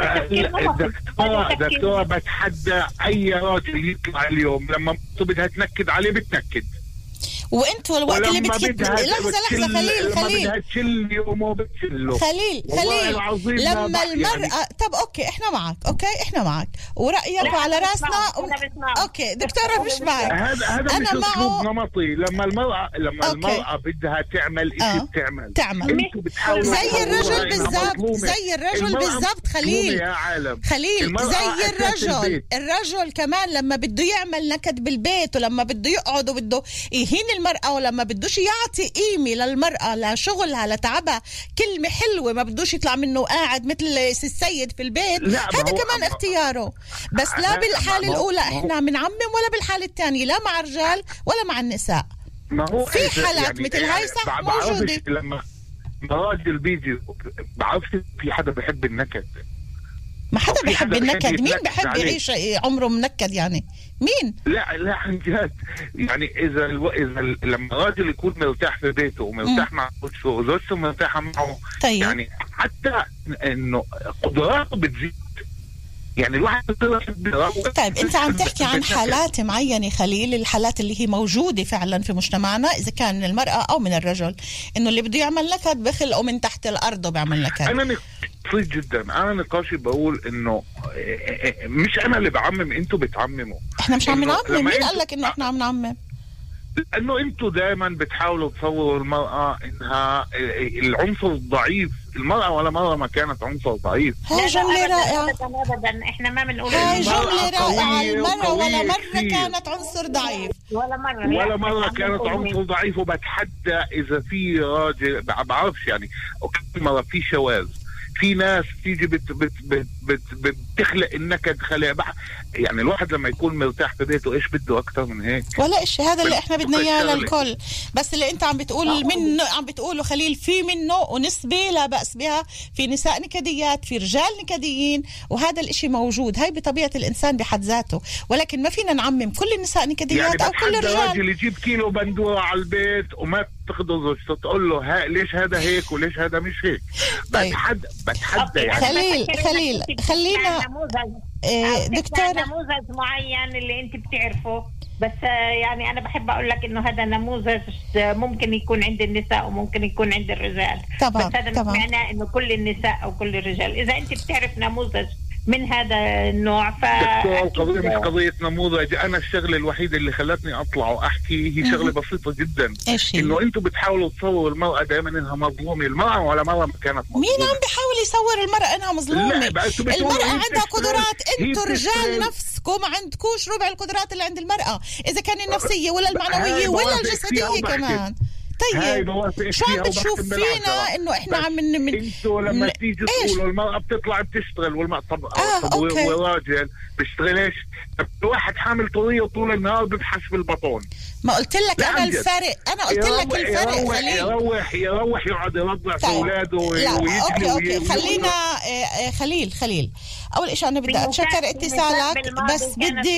Speaker 13: دكتورة بتحدى أي راجل يطلع اليوم لما بدها تنكد عليه بتنكد،
Speaker 4: وانتوا الوقت اللي لحظة خليل لما المرأة طب اوكي احنا معك ورأيك على راسنا اوكي دكتورة مش معك.
Speaker 13: هذا مش اسلوب نمطي. لما المرأة بدها تعمل شيء بتعمل.
Speaker 4: زي الرجل بالضبط خليل زي الرجل كمان لما بده يعمل نكد بالبيت ولما بده يقعد وبده يهين المرأة ولما بدوش يعطي قيمة للمرأة لشغلها لتعبها كلمة حلوة ما بدوش يطلع منه قاعد مثل السيد في البيت، هذا كمان اختياره. بس لا بالحالة الأولى احنا بنعمم ولا بالحالة الثانية لا مع الرجال ولا مع النساء. في حالات مثل هاي صح موجودة.
Speaker 13: لما راجل بيجي بعرفش في حدا بيحب النكد.
Speaker 4: ما حدا بيحب النكد. مين بيحب يعيش عمره منكد يعني؟ مين؟
Speaker 13: لا عن جد يعني إذا لما راجل يكون مرتاح في بيته ومرتاح مع زوجته وزوجته مرتاحة معه
Speaker 4: طيب.
Speaker 13: يعني حتى إنه قدراته بتزيد. يعني الواحد
Speaker 4: طيب أنت عم تحكي عن حالات معينة خليل، الحالات اللي هي موجودة فعلا في مجتمعنا إذا كان من المرأة أو من الرجل، إنه اللي بده يعمل نكد بخلقه من تحت الأرض وبيعمل نكد.
Speaker 13: أنا بسيط جدا. أنا نقاشي بقول إنه مش أنا اللي بعمم، أنتوا بتعمموا.
Speaker 4: إحنا مش عم نعمم. مين قال لك إنه إحنا عم نعمم؟
Speaker 13: لأنه أنتوا دائما بتحاولوا تصوروا المرأة إنها العنصر الضعيف. المرأة ولا مرة ما كانت عنصر ضعيف.
Speaker 4: هاي جملة رائعة.
Speaker 7: أبدا إحنا ما بنقول
Speaker 4: هاي جملة رائعة. المرأة ولا مرة كانت عنصر ضعيف.
Speaker 13: ولا مرة كانت عنصر ضعيف. وبتحدى إذا في راجل بعرفش يعني كل مرة في شواذ، في ناس تيجي بتخلق النكد خلق. يعني الواحد لما يكون مرتاح في بيته ايش بده اكتر من هيك؟
Speaker 4: ولا إشي. هذا اللي احنا بدنا اياه للكل. بس اللي انت عم بتقول منه عم بتقوله خليل في منه ونسبة لا بأس بها. في نساء نكديات، في رجال نكديين، وهذا الاشي موجود. هاي بطبيعة الانسان بحد ذاته، ولكن ما فينا نعمم كل النساء نكديات يعني او كل الرجال.
Speaker 13: يعني راجل يجيب كيلو بندورة على البيت وما تاخده زوجته تقول له ليش هذا هيك وليش هذا مش هيك. بتحدى يعني.
Speaker 4: خلينا
Speaker 7: دكتورة نموذج معين اللي انت بتعرفه. بس يعني انا بحب اقول لك انه هذا نموذج ممكن يكون عند النساء وممكن يكون عند الرجال.
Speaker 4: طبعا.
Speaker 7: بس هذا مش معناه انه كل النساء او كل الرجال. اذا انت بتعرف نموذج من هذا النوع
Speaker 13: القضية مش قضية نموذج. أنا الشغلة الوحيدة اللي خلتني أطلع وأحكي هي شغلة بسيطة جدا، إنه أنتوا بتحاولوا تصوروا المرأة دائما إنها مظلومة. المرأة ولا مرة ما كانت مظلومة.
Speaker 4: مين عم بيحاول يصور المرأة إنها مظلومة؟ المرأة عندها قدرات. أنتوا رجال نفسكم ما عندكوش ربع القدرات اللي عند المرأة، إذا كان النفسية ولا المعنوية ولا الجسدية كمان. طيب شو عم بتشوف فينا انه احنا عم
Speaker 13: انتوا لما تيجي تقولوا المرأة بتطلع بتشتغل والراجل بيشتغلش. واحد حامل طرية طول النهار ببحث بالبطون.
Speaker 4: ما قلت لك انا الفرق. انا قلت لك الفرق.
Speaker 13: يروح يقعد يرضع في اولاده
Speaker 4: اوكي خليل اول شيء انا بدي اتشكر اتصالك، بس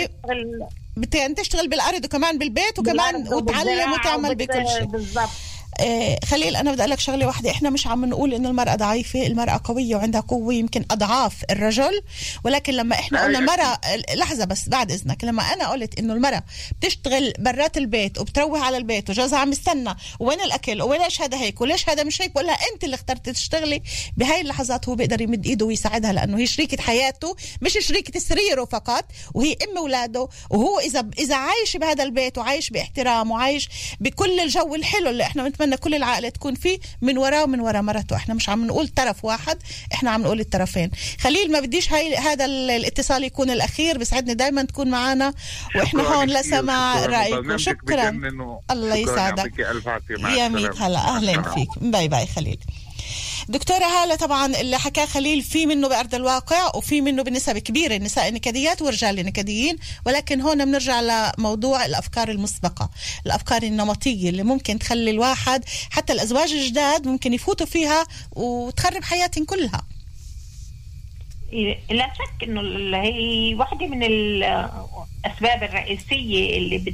Speaker 4: بدي أن تشتغل بالأرض وكمان بالبيت وكمان وتعلم وتعمل بكل شيء. خليل أنا بدي أقول لك شغلة واحدة، إحنا مش عم نقول إنه المرأة ضعيفة، المرأة قوية وعندها قوة يمكن أضعاف الرجل، ولكن لما إحنا قلنا المرأة، لحظة بس بعد إذنك، لما أنا قلت إنه المرأة بتشتغل برات البيت وبتروح على البيت وجوزها عم يستنى وين الأكل وليش هذا هيك وليش هذا مش هيك، ولا أنت اللي اخترت تشتغلي، بهاي اللحظات هو بيقدر يمد إيده ويساعدها، لأنه هي شريكة حياته مش شريكة سريره فقط، وهي أم أولاده، وهو إذا عايش بهذا البيت وعايش باحترام وعايش بكل الجو الحلو اللي إحنا بنتمنى كل العائلة تكون فيه، من وراه ومن ورا مرته. إحنا مش عم نقول طرف واحد، إحنا عم نقول الطرفين. خليل ما بديش هذا الاتصال يكون الأخير، بسعدني دايما تكون معنا وإحنا هون لسماع رأيك. شكرا، الله يسعدك يا ميت. هلا أهلا فيك، باي باي خليل. دكتورة هالة، طبعا اللي حكاه خليل في منه بأرض الواقع وفي منه بنسب كبيرة النساء نكديات ورجال نكديين، ولكن هون بنرجع لموضوع الأفكار المسبقة، الأفكار النمطية اللي ممكن تخلي الواحد حتى الأزواج الجداد ممكن يفوتوا فيها وتخرب حياتهم كلها.
Speaker 7: لا شك انه هي واحدة من الأسباب الرئيسية اللي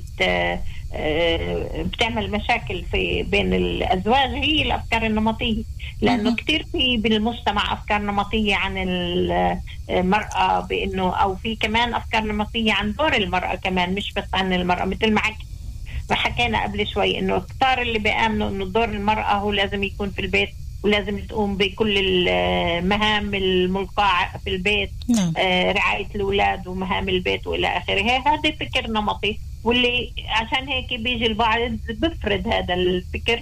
Speaker 7: بتعمل مشاكل بين الأزواج هي الأفكار النمطية، لأنه كتير في بالمجتمع أفكار نمطية عن المرأة، بأنه أو في كمان أفكار نمطية عن دور المرأة كمان، مش بس عن المرأة، مثل ما حكينا قبل شوي إنه كتار اللي بيآمنوا إنه دور المرأة هو لازم يكون في البيت ولازم تقوم بكل المهام الملقاة في البيت، رعاية الأولاد ومهام البيت وإلى آخره. هذا فكر نمطي، واللي عشان هيك بيجي البعض بفرض هذا الفكر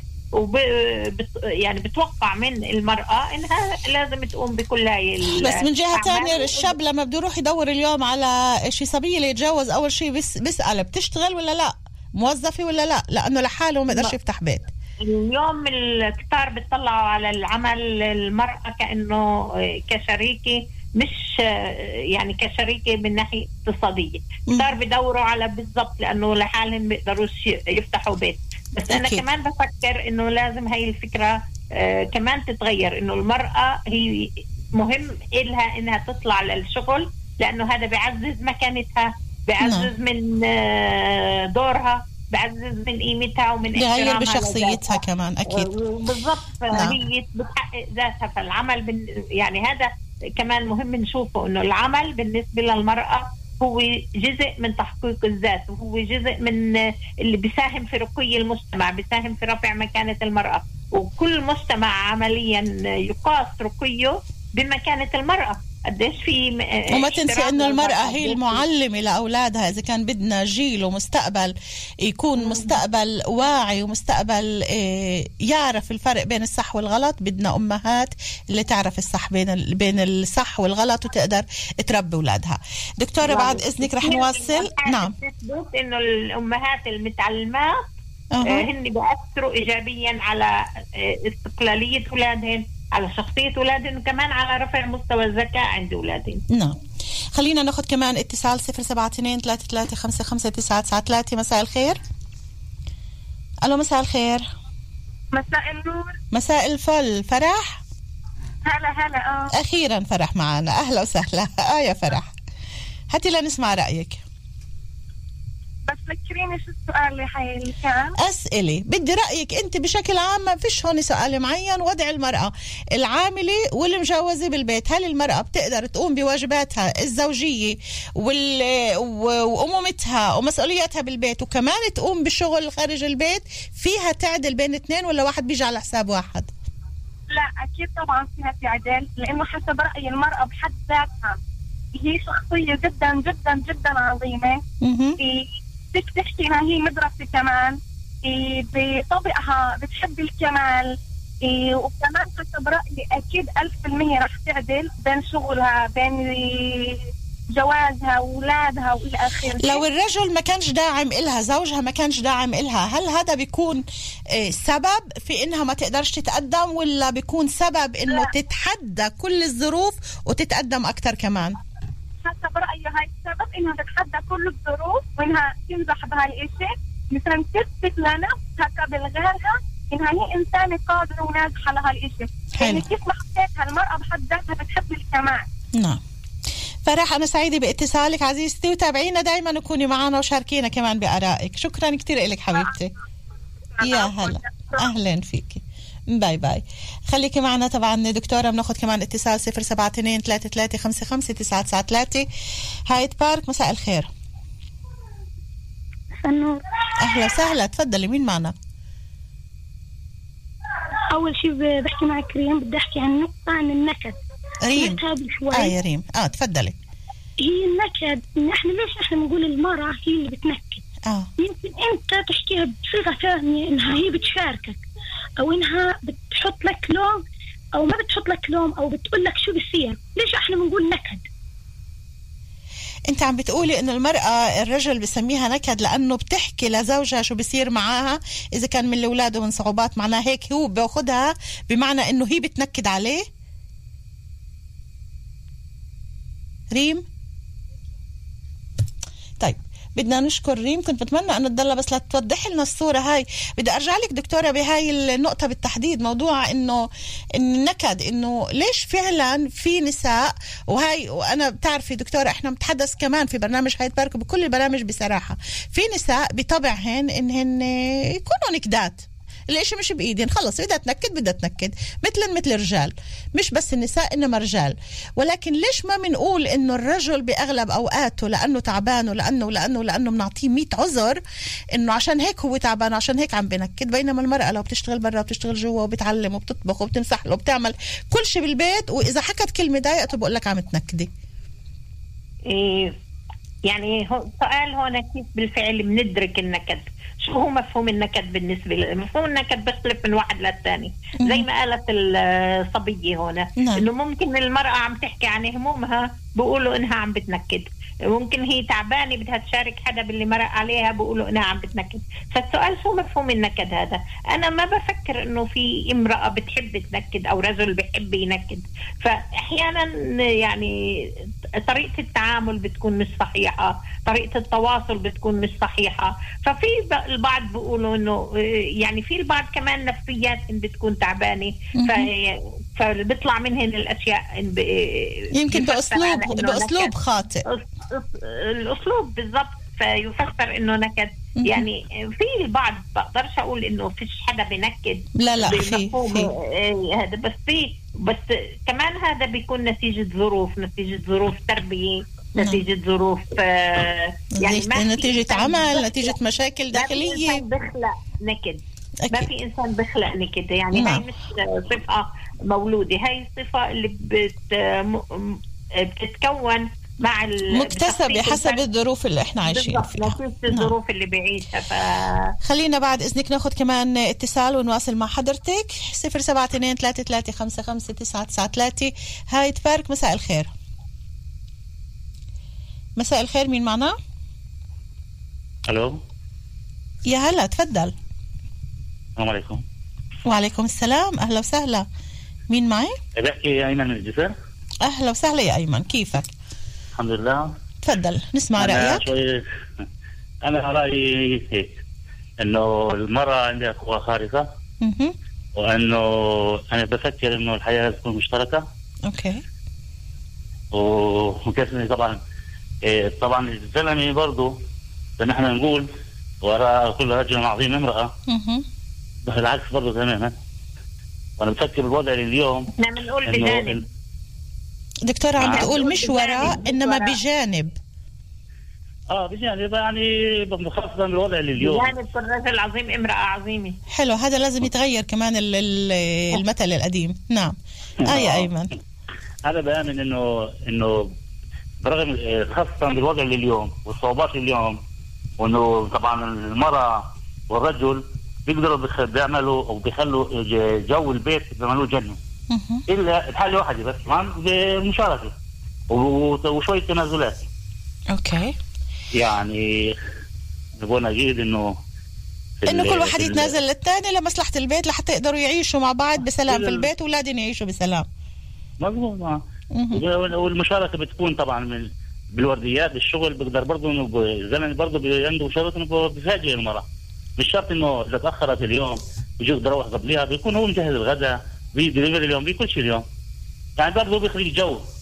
Speaker 7: يعني بتوقع من المرأة إنها لازم تقوم بكل هاي.
Speaker 4: بس من جهة تانية الشاب لما بده يروح يدور اليوم على شي صبية ليتجوز، أول شيء بيسأل بتشتغل ولا لا، موظفة ولا لا، لأنه لحاله ما يقدرش يفتح بيت.
Speaker 7: اليوم الكتار بيطلعوا على العمل المرأة كأنه كشريكة، مش يعني كشريكة من ناحية اقتصادية. كتار بدوروا على بالضبط لأنه لحالهم بيقدروش يفتحوا بيت. بس أنا كمان بفكر إنه لازم هاي الفكرة كمان تتغير، إنه المرأة هي مهم إلها إنها تطلع للشغل، لأنه هذا بيعزز مكانتها، بيعزز من دورها، بعزز من قيمتها ومن
Speaker 4: يغير بشخصيتها كمان. أكيد
Speaker 7: بالضبط. هي بتحقق ذاتها في العمل. يعني هذا كمان مهم نشوفه، إنه العمل بالنسبة للمرأة هو جزء من تحقيق الذات، وهو جزء من اللي بيساهم في رقي المجتمع، بيساهم في رفع مكانة المرأة، وكل مجتمع عمليا يقاس رقيه بمكانة المرأة. قديش في
Speaker 4: وما تنسي انه المرأة هي المعلمة لأولادها. إذا كان بدنا جيل ومستقبل يكون مستقبل واعي ومستقبل يعرف الفرق بين الصح والغلط، بدنا أمهات اللي تعرف الصح بين الصح والغلط وتقدر تربي أولادها. دكتورة بعد إذنك رح نواصل. نعم،
Speaker 7: إنه الأمهات المتعلمات هن بيأثروا إيجابيا على استقلالية أولادهن، على شخصية أولادهم، وكمان على رفع مستوى الذكاء عند أولادهم.
Speaker 4: نعم. خلينا ناخد كمان اتصال 072-3355-993. مساء الخير. ألو مساء الخير.
Speaker 14: مساء النور.
Speaker 4: مساء الفل. فرح.
Speaker 14: هلا
Speaker 4: أخيرا فرح معنا، أهلا وسهلا. يا فرح، هاتي لنسمع رأيك.
Speaker 14: بس ذكريني شو السؤال اللي كان؟
Speaker 4: أسئلة، بدي رأيك أنت بشكل عام، ما فيش هون سؤال معين. وضع المرأة العاملة والمجوزة بالبيت، هل المرأة بتقدر تقوم بواجباتها الزوجية وأمومتها ومسؤولياتها بالبيت، وكمان تقوم بشغل خارج البيت؟ فيها تعدل بين اثنين ولا واحد بيجي على حساب واحد؟
Speaker 14: لا أكيد طبعا فيها تعدل، لأنه حسب رأيي المرأة بحد ذاتها هي شخصية جدا جدا جدا عظيمة. بدك تحكي انها هي مدرسة كمان، بطبعها بتحب الكمال، وكمان حسب رأيي أكيد 1000% رح تعدل بين شغلها، بين جوازها وولادها وإلى آخره.
Speaker 4: لو الرجل ما كانش داعم إلها، زوجها ما كانش داعم إلها، هل هذا بيكون سبب في إنها ما تقدرش تتقدم، ولا بيكون سبب إنه تتحدى كل الظروف وتتقدم أكتر كمان؟
Speaker 14: حسب رأيي هاي السبب، إنها تتحدى كل الظروف وإنها تنجح بهالإشي، مثلا تثبت لنفسها قبل غيرها إنها هي إنسانة قادرة وناجحة لهالإشي. يعني كيف ما حكيتها المرأة بحد ذاتها بتحب الكمال.
Speaker 4: نعم. فرح، أنا سعيدة باتصالك عزيزتي، وتابعينا دايما وكوني معنا وشاركينا كمان بآرائك. شكرا كتير لك حبيبتي. يا هلا أهلا فيكي. باي باي. خليكي معنا طبعا دكتورة. بناخد كمان اتصال 072-3355-993. هايد بارك، مساء الخير.
Speaker 15: النور.
Speaker 4: أهلا وسهلا، تفضلي. مين معنا؟
Speaker 15: أول شيء بحكي معك ريم، بدي أحكي عن النكد.
Speaker 4: ريم. يا ريم. تفضلي.
Speaker 15: هي النكد إن إحنا ليش إحنا بنقول المرأة هي اللي بتنكد؟ يمكن أنت تحكيها بصيغة ثانية إنها هي بتشاركك، أو إنها بتحط لك لوم، أو ما بتحط لك لوم، أو بتقول لك شو بصير. ليش إحنا بنقول نكد؟
Speaker 4: انت عم بتقولي انه المرأة الرجل بسميها نكد لانه بتحكي لزوجها شو بيصير معاها اذا كان من الاولاد ومن صعوبات، معناه هيك هو بياخدها بمعنى انه هي بتنكد عليه. ريم. طيب بدنا نشكر ريم، كنت بتمنى أن تضل بس لتوضح لنا الصورة هاي. بدي أرجع لك دكتورة بهاي النقطة بالتحديد، موضوع إنه النكد، إنه ليش فعلا في نساء، وهاي وأنا بتعرفي دكتورة إحنا بنتحدث كمان في برنامج هايد بارك وبكل البرامج بصراحة، في نساء بطبعهن إنهن يكونوا نكدات، الاشي مش بايدين، خلص بدها تنكد مثل الرجال، مش بس النساء انما رجال. ولكن ليش ما بنقول انه الرجل باغلب اوقاته لانه تعبان ولانه بنعطيه 100 عذر انه عشان هيك هو تعبان وعشان هيك عم بنكد، بينما المرأة لو بتشتغل برا وبتشتغل جوا وبتعلم وبتطبخ وبتمسح له وبتعمل كل شيء بالبيت، واذا حكت كلمة ضايقته بقول لك عم تنكدي.
Speaker 7: يعني سؤال هون كيف بالفعل بندرك النكد؟ شو هو مفهوم النكد بالنسبة لي؟ مفهوم النكد بيختلف من واحد للثاني، زي ما قالت الصبية هنا. إنه ممكن المرأة عم تحكي عن همومها بقولوا إنها عم بتنكد، ممكن هي تعبانة بدها تشارك حدا باللي مرق عليها بقولوا إنها عم بتنكد. فالسؤال شو مفهوم النكد هذا؟ أنا ما بفكر إنه في امرأة بتحب تنكد أو رجل بحب ينكد، فأحيانا يعني طريقة التعامل بتكون مش صحيحة، طريقة التواصل بتكون مش صحيحة. ففي البعض بيقولوا إنه يعني في البعض كمان نفسيات بتكون تعبانة، فبيطلع منهن الأشياء
Speaker 15: يمكن بأسلوب خاطئ.
Speaker 7: الأسلوب بالضبط، فيفسر إنه نكد. يعني في البعض بقدرش أقول إنه فيش حدا بنكد،
Speaker 4: لا في
Speaker 7: هذا، بس كمان هذا بيكون نتيجة ظروف تربية، نتيجة ظروف
Speaker 4: يعني نتيجة عمل، نتيجة مشاكل داخلية.
Speaker 7: بخلق نكد ما في إنسان بخلق نكد، يعني هاي مش صفة مولودة، هاي الصفة اللي بتتكون مع
Speaker 4: مكتسبة حسب الظروف اللي احنا عايشين فيها،
Speaker 7: الظروف اللي بيعيشها.
Speaker 4: خلينا بعد إذنك ناخد كمان اتصال ونواصل مع حضرتك. 072-3355-993. هايد بارك، مساء الخير. مساء الخير، مين معنا؟
Speaker 16: الو.
Speaker 4: يا هلا، تفضل.
Speaker 16: السلام عليكم.
Speaker 4: وعليكم السلام، اهلا وسهلا. مين معي؟
Speaker 16: بحكي ايمن من الجسر.
Speaker 4: اهلا وسهلا يا ايمن، كيفك؟
Speaker 16: الحمد لله.
Speaker 4: تفضل نسمع رايك.
Speaker 16: انا رايي هيك، انه المراه عندها قوة خارقة، وانه انا بفكر انه الحياة تكون مشتركة.
Speaker 4: اوكي.
Speaker 16: ومكسني طبعا الزلمه برضه زي ما احنا نقول وراء كل رجل عظيم امرأة. بس العكس برضه تماما. وانا بفكر بالوضع اليوم
Speaker 7: احنا بنقول بجانب.
Speaker 4: دكتورة عم بتقول مش وراء انما بجانب.
Speaker 16: بجانب، يعني خاصة بالوضع اليوم
Speaker 7: بجانب كل رجل عظيم امرأة عظيمة.
Speaker 4: حلو، هذا لازم يتغير كمان المثل القديم. نعم. يا ايمن،
Speaker 16: هذا بآمن انه برغم خاصة بالوضع اليوم والصعوبات اليوم، وانه طبعا المرأة والرجل بيقدروا بيعملوا او بيخلوا جو البيت بيعملوه جنة، الا الحالة واحدة بس بالمشاركة وشوية تنازلات.
Speaker 4: اوكي.
Speaker 16: يعني نبغى نجد انه
Speaker 4: كل واحد يتنازل للثاني لمصلحة البيت لحتى يقدروا يعيشوا مع بعض بسلام في البيت واولادهم يعيشوا بسلام.
Speaker 16: مظبوط. والمشاركة بتكون طبعا بالورديات الشغل، بقدر برضه انه الزلمه برضه عنده شرط انه بيفاجئ المرأة، مش شرط انه اذا تاخرت اليوم بيجي يروح قبلها، بيكون هو مجهز الغداء، بيدليفر اليوم، بكل شيء اليوم، يعني برضه بيخلق جو.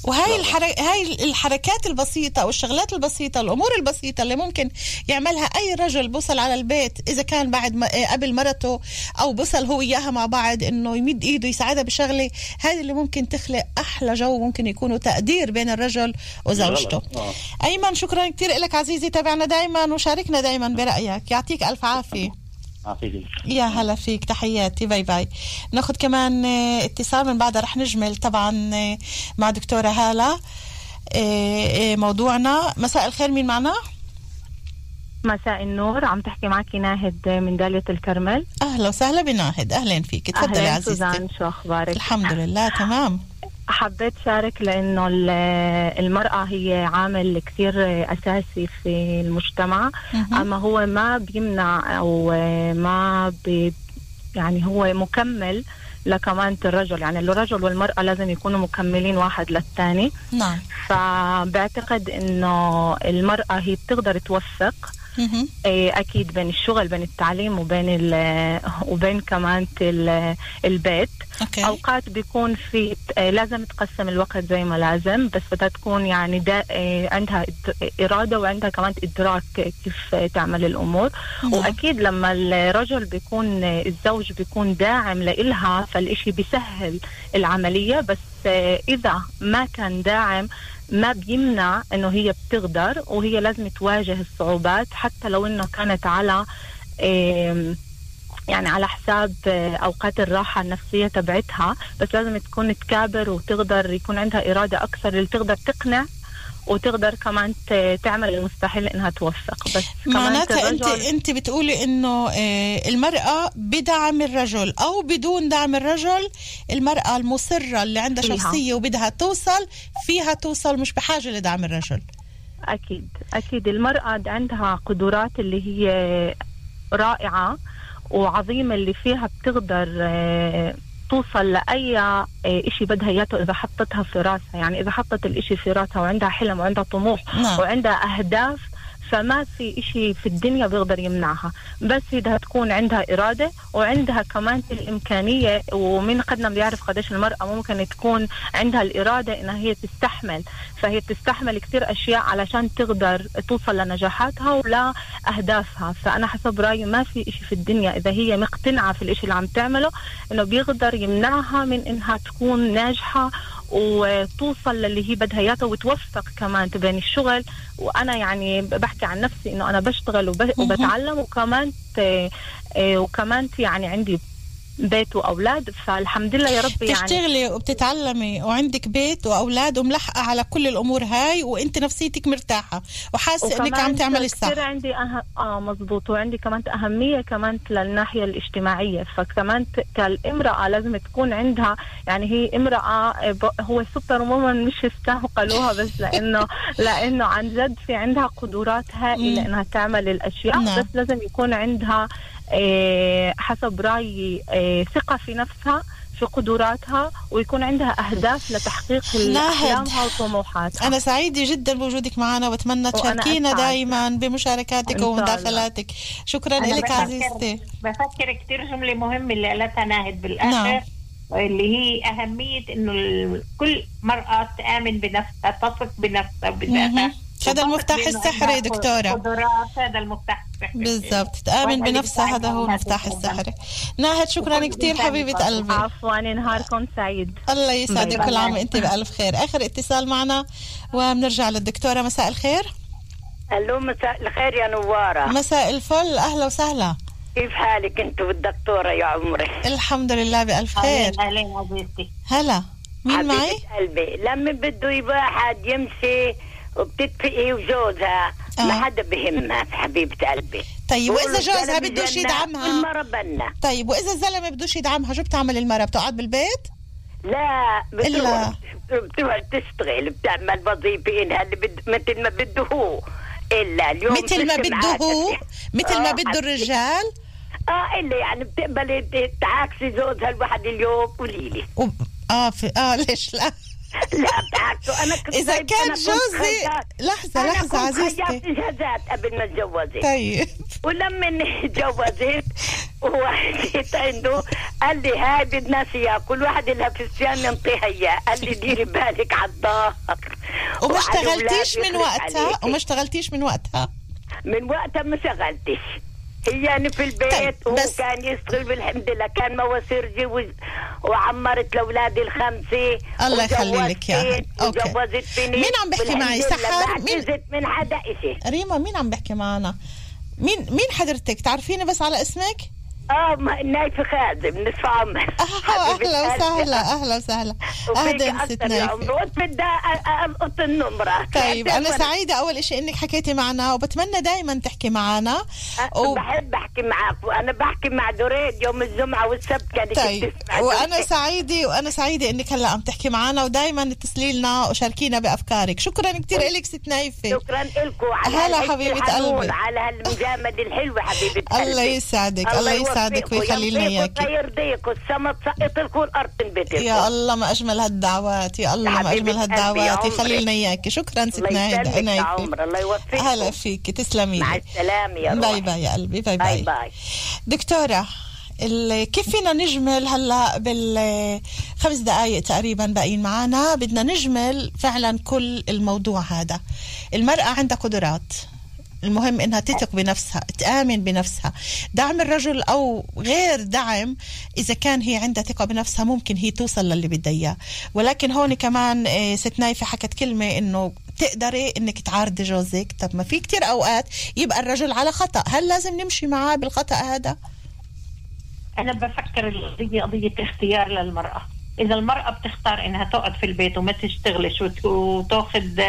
Speaker 4: وهاي هاي الحركات البسيطة والشغلات البسيطة، الأمور البسيطة اللي ممكن يعملها أي رجل بوصل على البيت، إذا كان بعد قبل مرته أو بوصل هو إياها مع بعض، إنه يمد إيده يساعدها بشغلة، هذه اللي ممكن تخلق أحلى جو، ممكن يكونوا تقدير بين الرجل وزوجته. أيمن شكرا كتير لك عزيزي، تابعنا دايما وشاركنا دايما برأيك، يعطيك ألف عافية. يا هلا فيك، تحياتي، باي باي. ناخد كمان اتصال من بعدها رح نجمل طبعا مع دكتورة هالة موضوعنا. مساء الخير، مين معنا؟
Speaker 17: مساء النور، عم تحكي معك ناهد من دالية الكرمل.
Speaker 4: أهلا وسهلا بناهد، أهلا فيك، تفضلي عزيزتي.
Speaker 17: سوزان، شو أخبارك؟
Speaker 4: الحمد لله تمام.
Speaker 17: حبيت شارك لأنه المرأة هي عامل كثير أساسي في المجتمع، أما هو ما بيمنع أو ما يعني هو مكمل لكمان الرجل، يعني الرجل والمرأة لازم يكونوا مكملين واحد للثاني.
Speaker 4: نعم.
Speaker 17: فبعتقد إنه المرأة هي بتقدر توفق أكيد بين الشغل، بين التعليم، وبين كمان البيت.
Speaker 4: أوكي.
Speaker 17: أوقات بيكون في لازم تقسم الوقت زي ما لازم، بس بدها تكون يعني عندها إرادة وعندها كمان إدراك كيف تعمل الأمور. وأكيد لما الرجل بيكون الزوج بيكون داعم لإلها فالإشي بيسهل العملية، بس إذا ما كان داعم ما بيمنع انه هي بتقدر، وهي لازم تواجه الصعوبات حتى لو انه كانت على يعني على حساب اوقات الراحة النفسية تبعتها، بس لازم تكون تكابر وتقدر يكون عندها إرادة اكثر اللي تقدر تقنع وتقدر كمان تعمل المستحيل انها توفق. بس
Speaker 4: معناتها انت بتقولي انه المرأة بدعم الرجل او بدون دعم الرجل، المرأة المصرة اللي عندها شخصية وبدها توصل فيها توصل، مش بحاجة لدعم الرجل.
Speaker 17: اكيد المرأة عندها قدرات اللي هي رائعة وعظيمة اللي فيها بتقدر توصل لأي إشي بدها إياته إذا حطتها في راسها. يعني إذا حطت الإشي في راسها وعندها حلم وعندها طموح وعندها أهداف، فما في إشي في الدنيا بيقدر يمنعها، بس بدها تكون عندها إرادة وعندها كمان الإمكانية. ومن قدنا بيعرف قديش المرأة ممكن تكون عندها الإرادة إنها هي تستحمل، فهي تستحمل كتير أشياء علشان تقدر توصل لنجاحاتها ولا أهدافها. فأنا حسب رأيي ما في إشي في الدنيا إذا هي مقتنعة في الإشي اللي عم تعمله إنه بيقدر يمنعها من إنها تكون ناجحة وتوصل للي هي بدها اياه وتوفق كمان بين الشغل. وانا يعني بحكي عن نفسي انه انا بشتغل وبتعلم وكمان يعني عندي بيت واولاد، فالحمد لله يا رب. يعني
Speaker 4: تشتغلي وبتتعلمي وعندك بيت واولاد وملحقه على كل الامور هاي، وانت نفسيتك مرتاحه وحاسه انك عم تعملي الصح.
Speaker 17: عندي مزبوط، وعندي كمان اهميه كمان للناحيه الاجتماعيه. فكمان كالامراه لازم تكون عندها، يعني هي امراه هو سوبر وومن مش استهقلوها بس لانه عن جد في عندها قدرات هائله انها تعمل الاشياء. بس لازم يكون عندها حسب رأيي ثقة في نفسها، في قدراتها، ويكون عندها أهداف لتحقيق أحلامها وطموحاتها.
Speaker 4: أنا سعيدة جدا بوجودك معنا، وأتمنى تشاركينا دائما بمشاركاتك ومداخلاتك. شكرا لك عزيزتي.
Speaker 7: بفكر كتير جملة مهمة اللي قالتها ناهد بالآخر، اللي هي أهمية إنه كل مرأة تآمن بنفسها، تثق بنفسها بذاتها.
Speaker 4: هذا المفتاح السحري دكتورة.
Speaker 7: هذا المفتاح السحري
Speaker 4: بالضبط، تآمن بنفسها، هذا هو المفتاح السحري. ناهد شكرا كتير حبيبة قلبي.
Speaker 17: عفوا، نهاركم سعيد.
Speaker 4: الله يسعدك، كل عام وانت بألف خير. آخر اتصال معنا وبنرجع للدكتورة. مساء الخير.
Speaker 18: الو، مساء الخير يا نوارة.
Speaker 4: مساء الفل، أهلا وسهلا.
Speaker 18: كيف حالك انت والدكتورة يا عمري؟
Speaker 4: الحمد لله بألف خير.
Speaker 7: أهلين عزيزتي.
Speaker 4: هلا، مين معي؟
Speaker 18: قلبي لما بده واحد يمشي وبتتفقي وجوزها ما حدا بهمها حبيبة قلبي.
Speaker 4: طيب وإذا جوزها بدوش يدعمها؟
Speaker 18: المرة بنا.
Speaker 4: طيب وإذا الزلمة بدوش يدعمها شو بتعمل المرة؟ بتقعد بالبيت؟
Speaker 18: لا، بتروح تشتغل، بتعمل وظيفة إنها اللي مثل ما بده هو. إلا اليوم
Speaker 4: مثل ما بده هو؟ مثل ما بده الرجال؟
Speaker 18: إلا يعني بتقبلي تعاكسي جوزها الواحد اليوم، قوليلي.
Speaker 4: ليش لا؟
Speaker 18: لا بتعكسوا. أنا كنت
Speaker 4: إذا كان جوزي لحظة عزيزتي،
Speaker 18: أنا كنت إجازات قبل ما اتجوزت.
Speaker 4: طيب
Speaker 18: ولما اتجوزت وجيت عنده قال لي هاي بدنا اياه، كل واحد لها فستان ننطيها اياه. قال لي ديري بالك على الظهر.
Speaker 4: وما اشتغلتيش من وقتها؟ من وقتها
Speaker 18: ما شغلتش. هي يعني في البيت. طيب وهو كان يشتغل بالحمد لله، كان مواسير وعمرت لاولادي الخمسه.
Speaker 4: الله يخلي لك اياها.
Speaker 18: وجوزت فيني.
Speaker 4: مين عم بحكي معي؟ سحر؟
Speaker 18: من حدا شيء.
Speaker 4: ريما مين عم بحكي معنا؟ مين حضرتك؟ تعرفيني بس على اسمك؟
Speaker 18: نايفة خازم نصف عمر.
Speaker 4: اهلا وسهلا اهلا ست نايفة.
Speaker 18: بدي القط النمرة.
Speaker 4: طيب انا سعيدة اول اشي انك حكيتي معنا، وبتمنى دايما تحكي معنا.
Speaker 18: بحب احكي معك، وانا بحكي مع دريد يوم الجمعة والسبت كانت
Speaker 4: طيب وانا سعيدة انك هلا عم تحكي معنا، ودايما اتصلي لنا وشاركينا بافكارك. شكرا كتير لك ست نايفة.
Speaker 18: شكرا لكم
Speaker 4: هلا حبيبة قلبي،
Speaker 18: على هالمجاملة الحلوة حبيبة قلبي.
Speaker 4: الله يسعدك ويخلي لنا اياك.
Speaker 18: الله يرضيك، والسما تسقط لكم والارض تنبت لكم.
Speaker 4: يا الله ما اجمل هالدعوات، يا الله ما اجمل هالدعوات. يخلي لنا اياك. شكرا ست نايفة.
Speaker 18: الله يوفقك.
Speaker 4: هلا فيك، تسلمي.
Speaker 18: مع السلامة يا روحي.
Speaker 4: باي باي يا قلبي. باي دكتورة، كيف فينا نجمل هلا بالخمس دقائق تقريبا باقيين معنا؟ بدنا نجمل فعلا كل الموضوع هذا. المرأة عندها قدرات، المهم انها تثق بنفسها، تآمن بنفسها. دعم الرجل او غير دعم، اذا كان هي عندها ثقة بنفسها ممكن هي توصل للي بدها اياه. ولكن هون كمان ست نايفة حكت كلمة انه تقدري انك تعارضي جوزك. طب ما في كتير اوقات يبقى الرجل على خطأ، هل لازم نمشي معاه بالخطأ هذا؟
Speaker 7: انا بفكر القضية قضية اختيار للمرأة. إذا المرأة بتختار إنها تقعد في البيت وما تشتغلش وتأخذ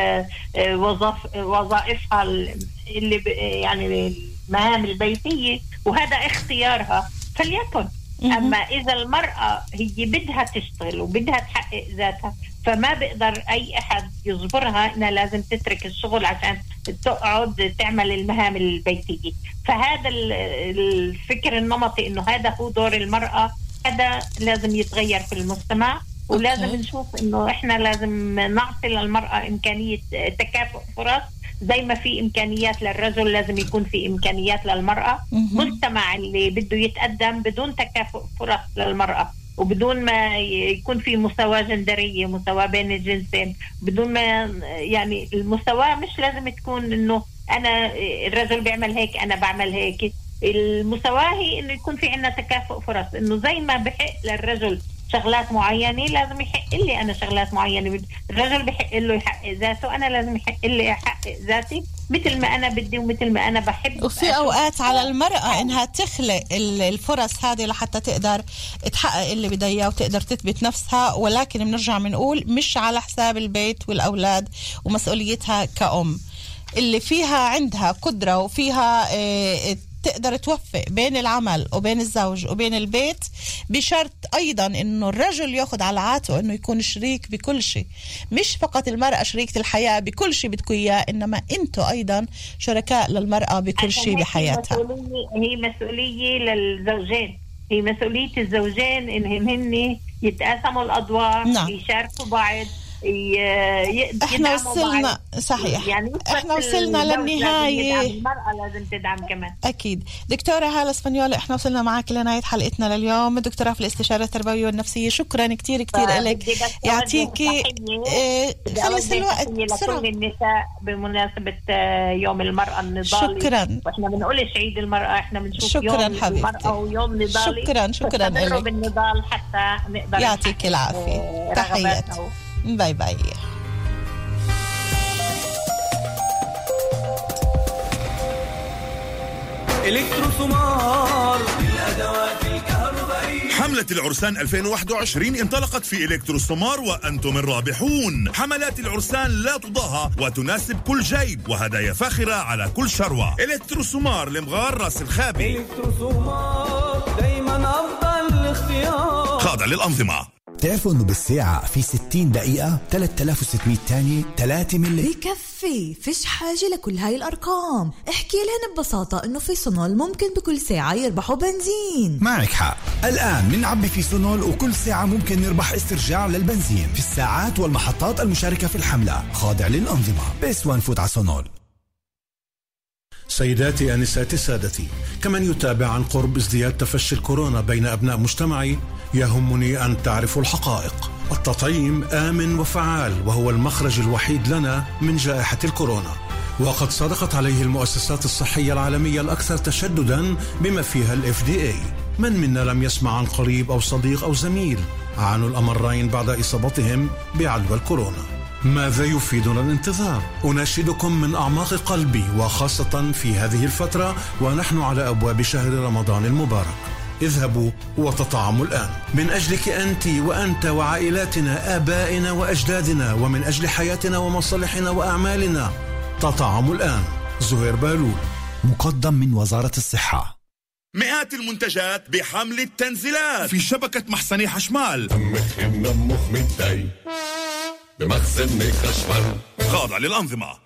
Speaker 7: وظائفها اللي يعني المهام البيتية، وهذا اختيارها فليكن. أما إذا المرأة هي بدها تشتغل وبدها تحقق ذاتها، فما بقدر أي أحد يجبرها إنها لازم تترك الشغل عشان تقعد تعمل المهام البيتية. فهذا الفكر النمطي إنه هذا هو دور المرأة، هذا لازم يتغير في المجتمع. ولازم نشوف إنه إحنا لازم نعطي للمرأة إمكانية تكافؤ فرص زي ما في إمكانيات للرجل، لازم يكون في إمكانيات للمرأة. مجتمع اللي بده يتقدم بدون تكافؤ فرص للمرأة وبدون ما يكون في مساواة جندرية، مساواة بين الجنسين، بدون ما يعني المساواة مش لازم تكون إنه أنا الرجل بيعمل هيك أنا بعمل هيك. المساواة هي إنه يكون في عنا تكافؤ فرص، إنه زي ما بحق للرجل شغلات معينة لازم يحق لي أنا شغلات معينة. الرجل بحق له يحقق ذاته، أنا لازم يحق لي أحقق ذاتي مثل ما أنا بدي ومثل ما أنا بحب.
Speaker 4: وفي أوقات على المرأة إنها تخلق الفرص هذه لحتى تقدر تحقق اللي بدها إياه وتقدر تثبت نفسها، ولكن بنرجع بنقول مش على حساب البيت والأولاد ومسؤوليتها كأم. اللي فيها عندها قدرة وفيها تقدر توفق بين العمل وبين الزوج وبين البيت، بشرط أيضا إنه الرجل يأخذ على عاتقه إنه يكون شريك بكل شيء. مش فقط المرأة شريكة الحياة بكل شيء بدكم إياه، إنما أنتوا أيضا شركاء للمرأة بكل شيء بحياتها.
Speaker 7: هي مسؤولية للزوجين، هي مسؤولية الزوجين إنهم هن يتقاسموا الأدوار. نعم. يشاركوا بعض،
Speaker 4: احنا وصلنا صحيح،
Speaker 7: يعني
Speaker 4: احنا وصلنا للنهاية.
Speaker 7: المرأة لازم تدعم كمان.
Speaker 4: اكيد. دكتورة هالة اسبانيول، احنا وصلنا معك لنهاية حلقتنا لليوم، دكتورة في الاستشارة التربوية والنفسية. شكرا كتير لك، يعطيكي خلص الوقت بسرعة.
Speaker 7: لكل النساء بمناسبة يوم المرأة النضالي.
Speaker 4: شكرا.
Speaker 7: واحنا بنقولش عيد المرأة، احنا بنشوف يوم المرأة ويوم نضالي.
Speaker 4: شكرا لك.
Speaker 7: بالنضال حتى نقدر.
Speaker 4: يعطيك العافية. تحياتي. باي باي.
Speaker 5: إلكتروسومار للأدوات الكهربائية.
Speaker 9: حملة العرسان 2021 انطلقت في إلكتروسومار وأنتم الرابحون. حملات العرسان لا تضاهى وتناسب كل جيب، وهدايا فاخرة على كل شروة. إلكتروسومار لمغار راس الخابي.
Speaker 5: إلكتروسومار دايما أفضل اختيار، خاضع
Speaker 9: للأنظمة.
Speaker 1: تعرفوا انه بالساعة في 60 دقيقة 3600 تانية 3 ملي.
Speaker 19: بكفي، فيش حاجة لكل هاي الأرقام. احكي لهن ببساطة انه في سونول ممكن بكل ساعة يربحوا بنزين.
Speaker 1: معك حق، الآن منعبي في سونول وكل ساعة ممكن نربح استرجاع للبنزين في الساعات والمحطات المشاركة في الحملة، خاضع للأنظمة. بس وين فوت على سونول.
Speaker 20: سيداتي أنساتي سادتي، كمن يتابع عن قرب ازدياد تفشي الكورونا بين أبناء مجتمعي يهمني أن تعرفوا الحقائق. التطعيم آمن وفعال وهو المخرج الوحيد لنا من جائحة الكورونا، وقد صدقت عليه المؤسسات الصحية العالمية الأكثر تشددا بما فيها الFDA. من منا لم يسمع عن قريب أو صديق أو زميل عانوا الأمرين بعد إصابتهم بعدوى الكورونا؟ ماذا يفيدنا الانتظار؟ أناشدكم من أعماق قلبي وخاصة في هذه الفترة ونحن على أبواب شهر رمضان المبارك، اذهبوا وتطعموا الآن من أجلك أنت وأنت وعائلاتنا، آبائنا وأجدادنا، ومن أجل حياتنا ومصالحنا وأعمالنا. تطعموا الآن. زهير بالول،
Speaker 1: مقدم من وزارة الصحة.
Speaker 9: مئات المنتجات بحملة تنزيلات في شبكة محسني حشمال.
Speaker 21: بمخزن خشمال
Speaker 9: خاضع للأنظمة.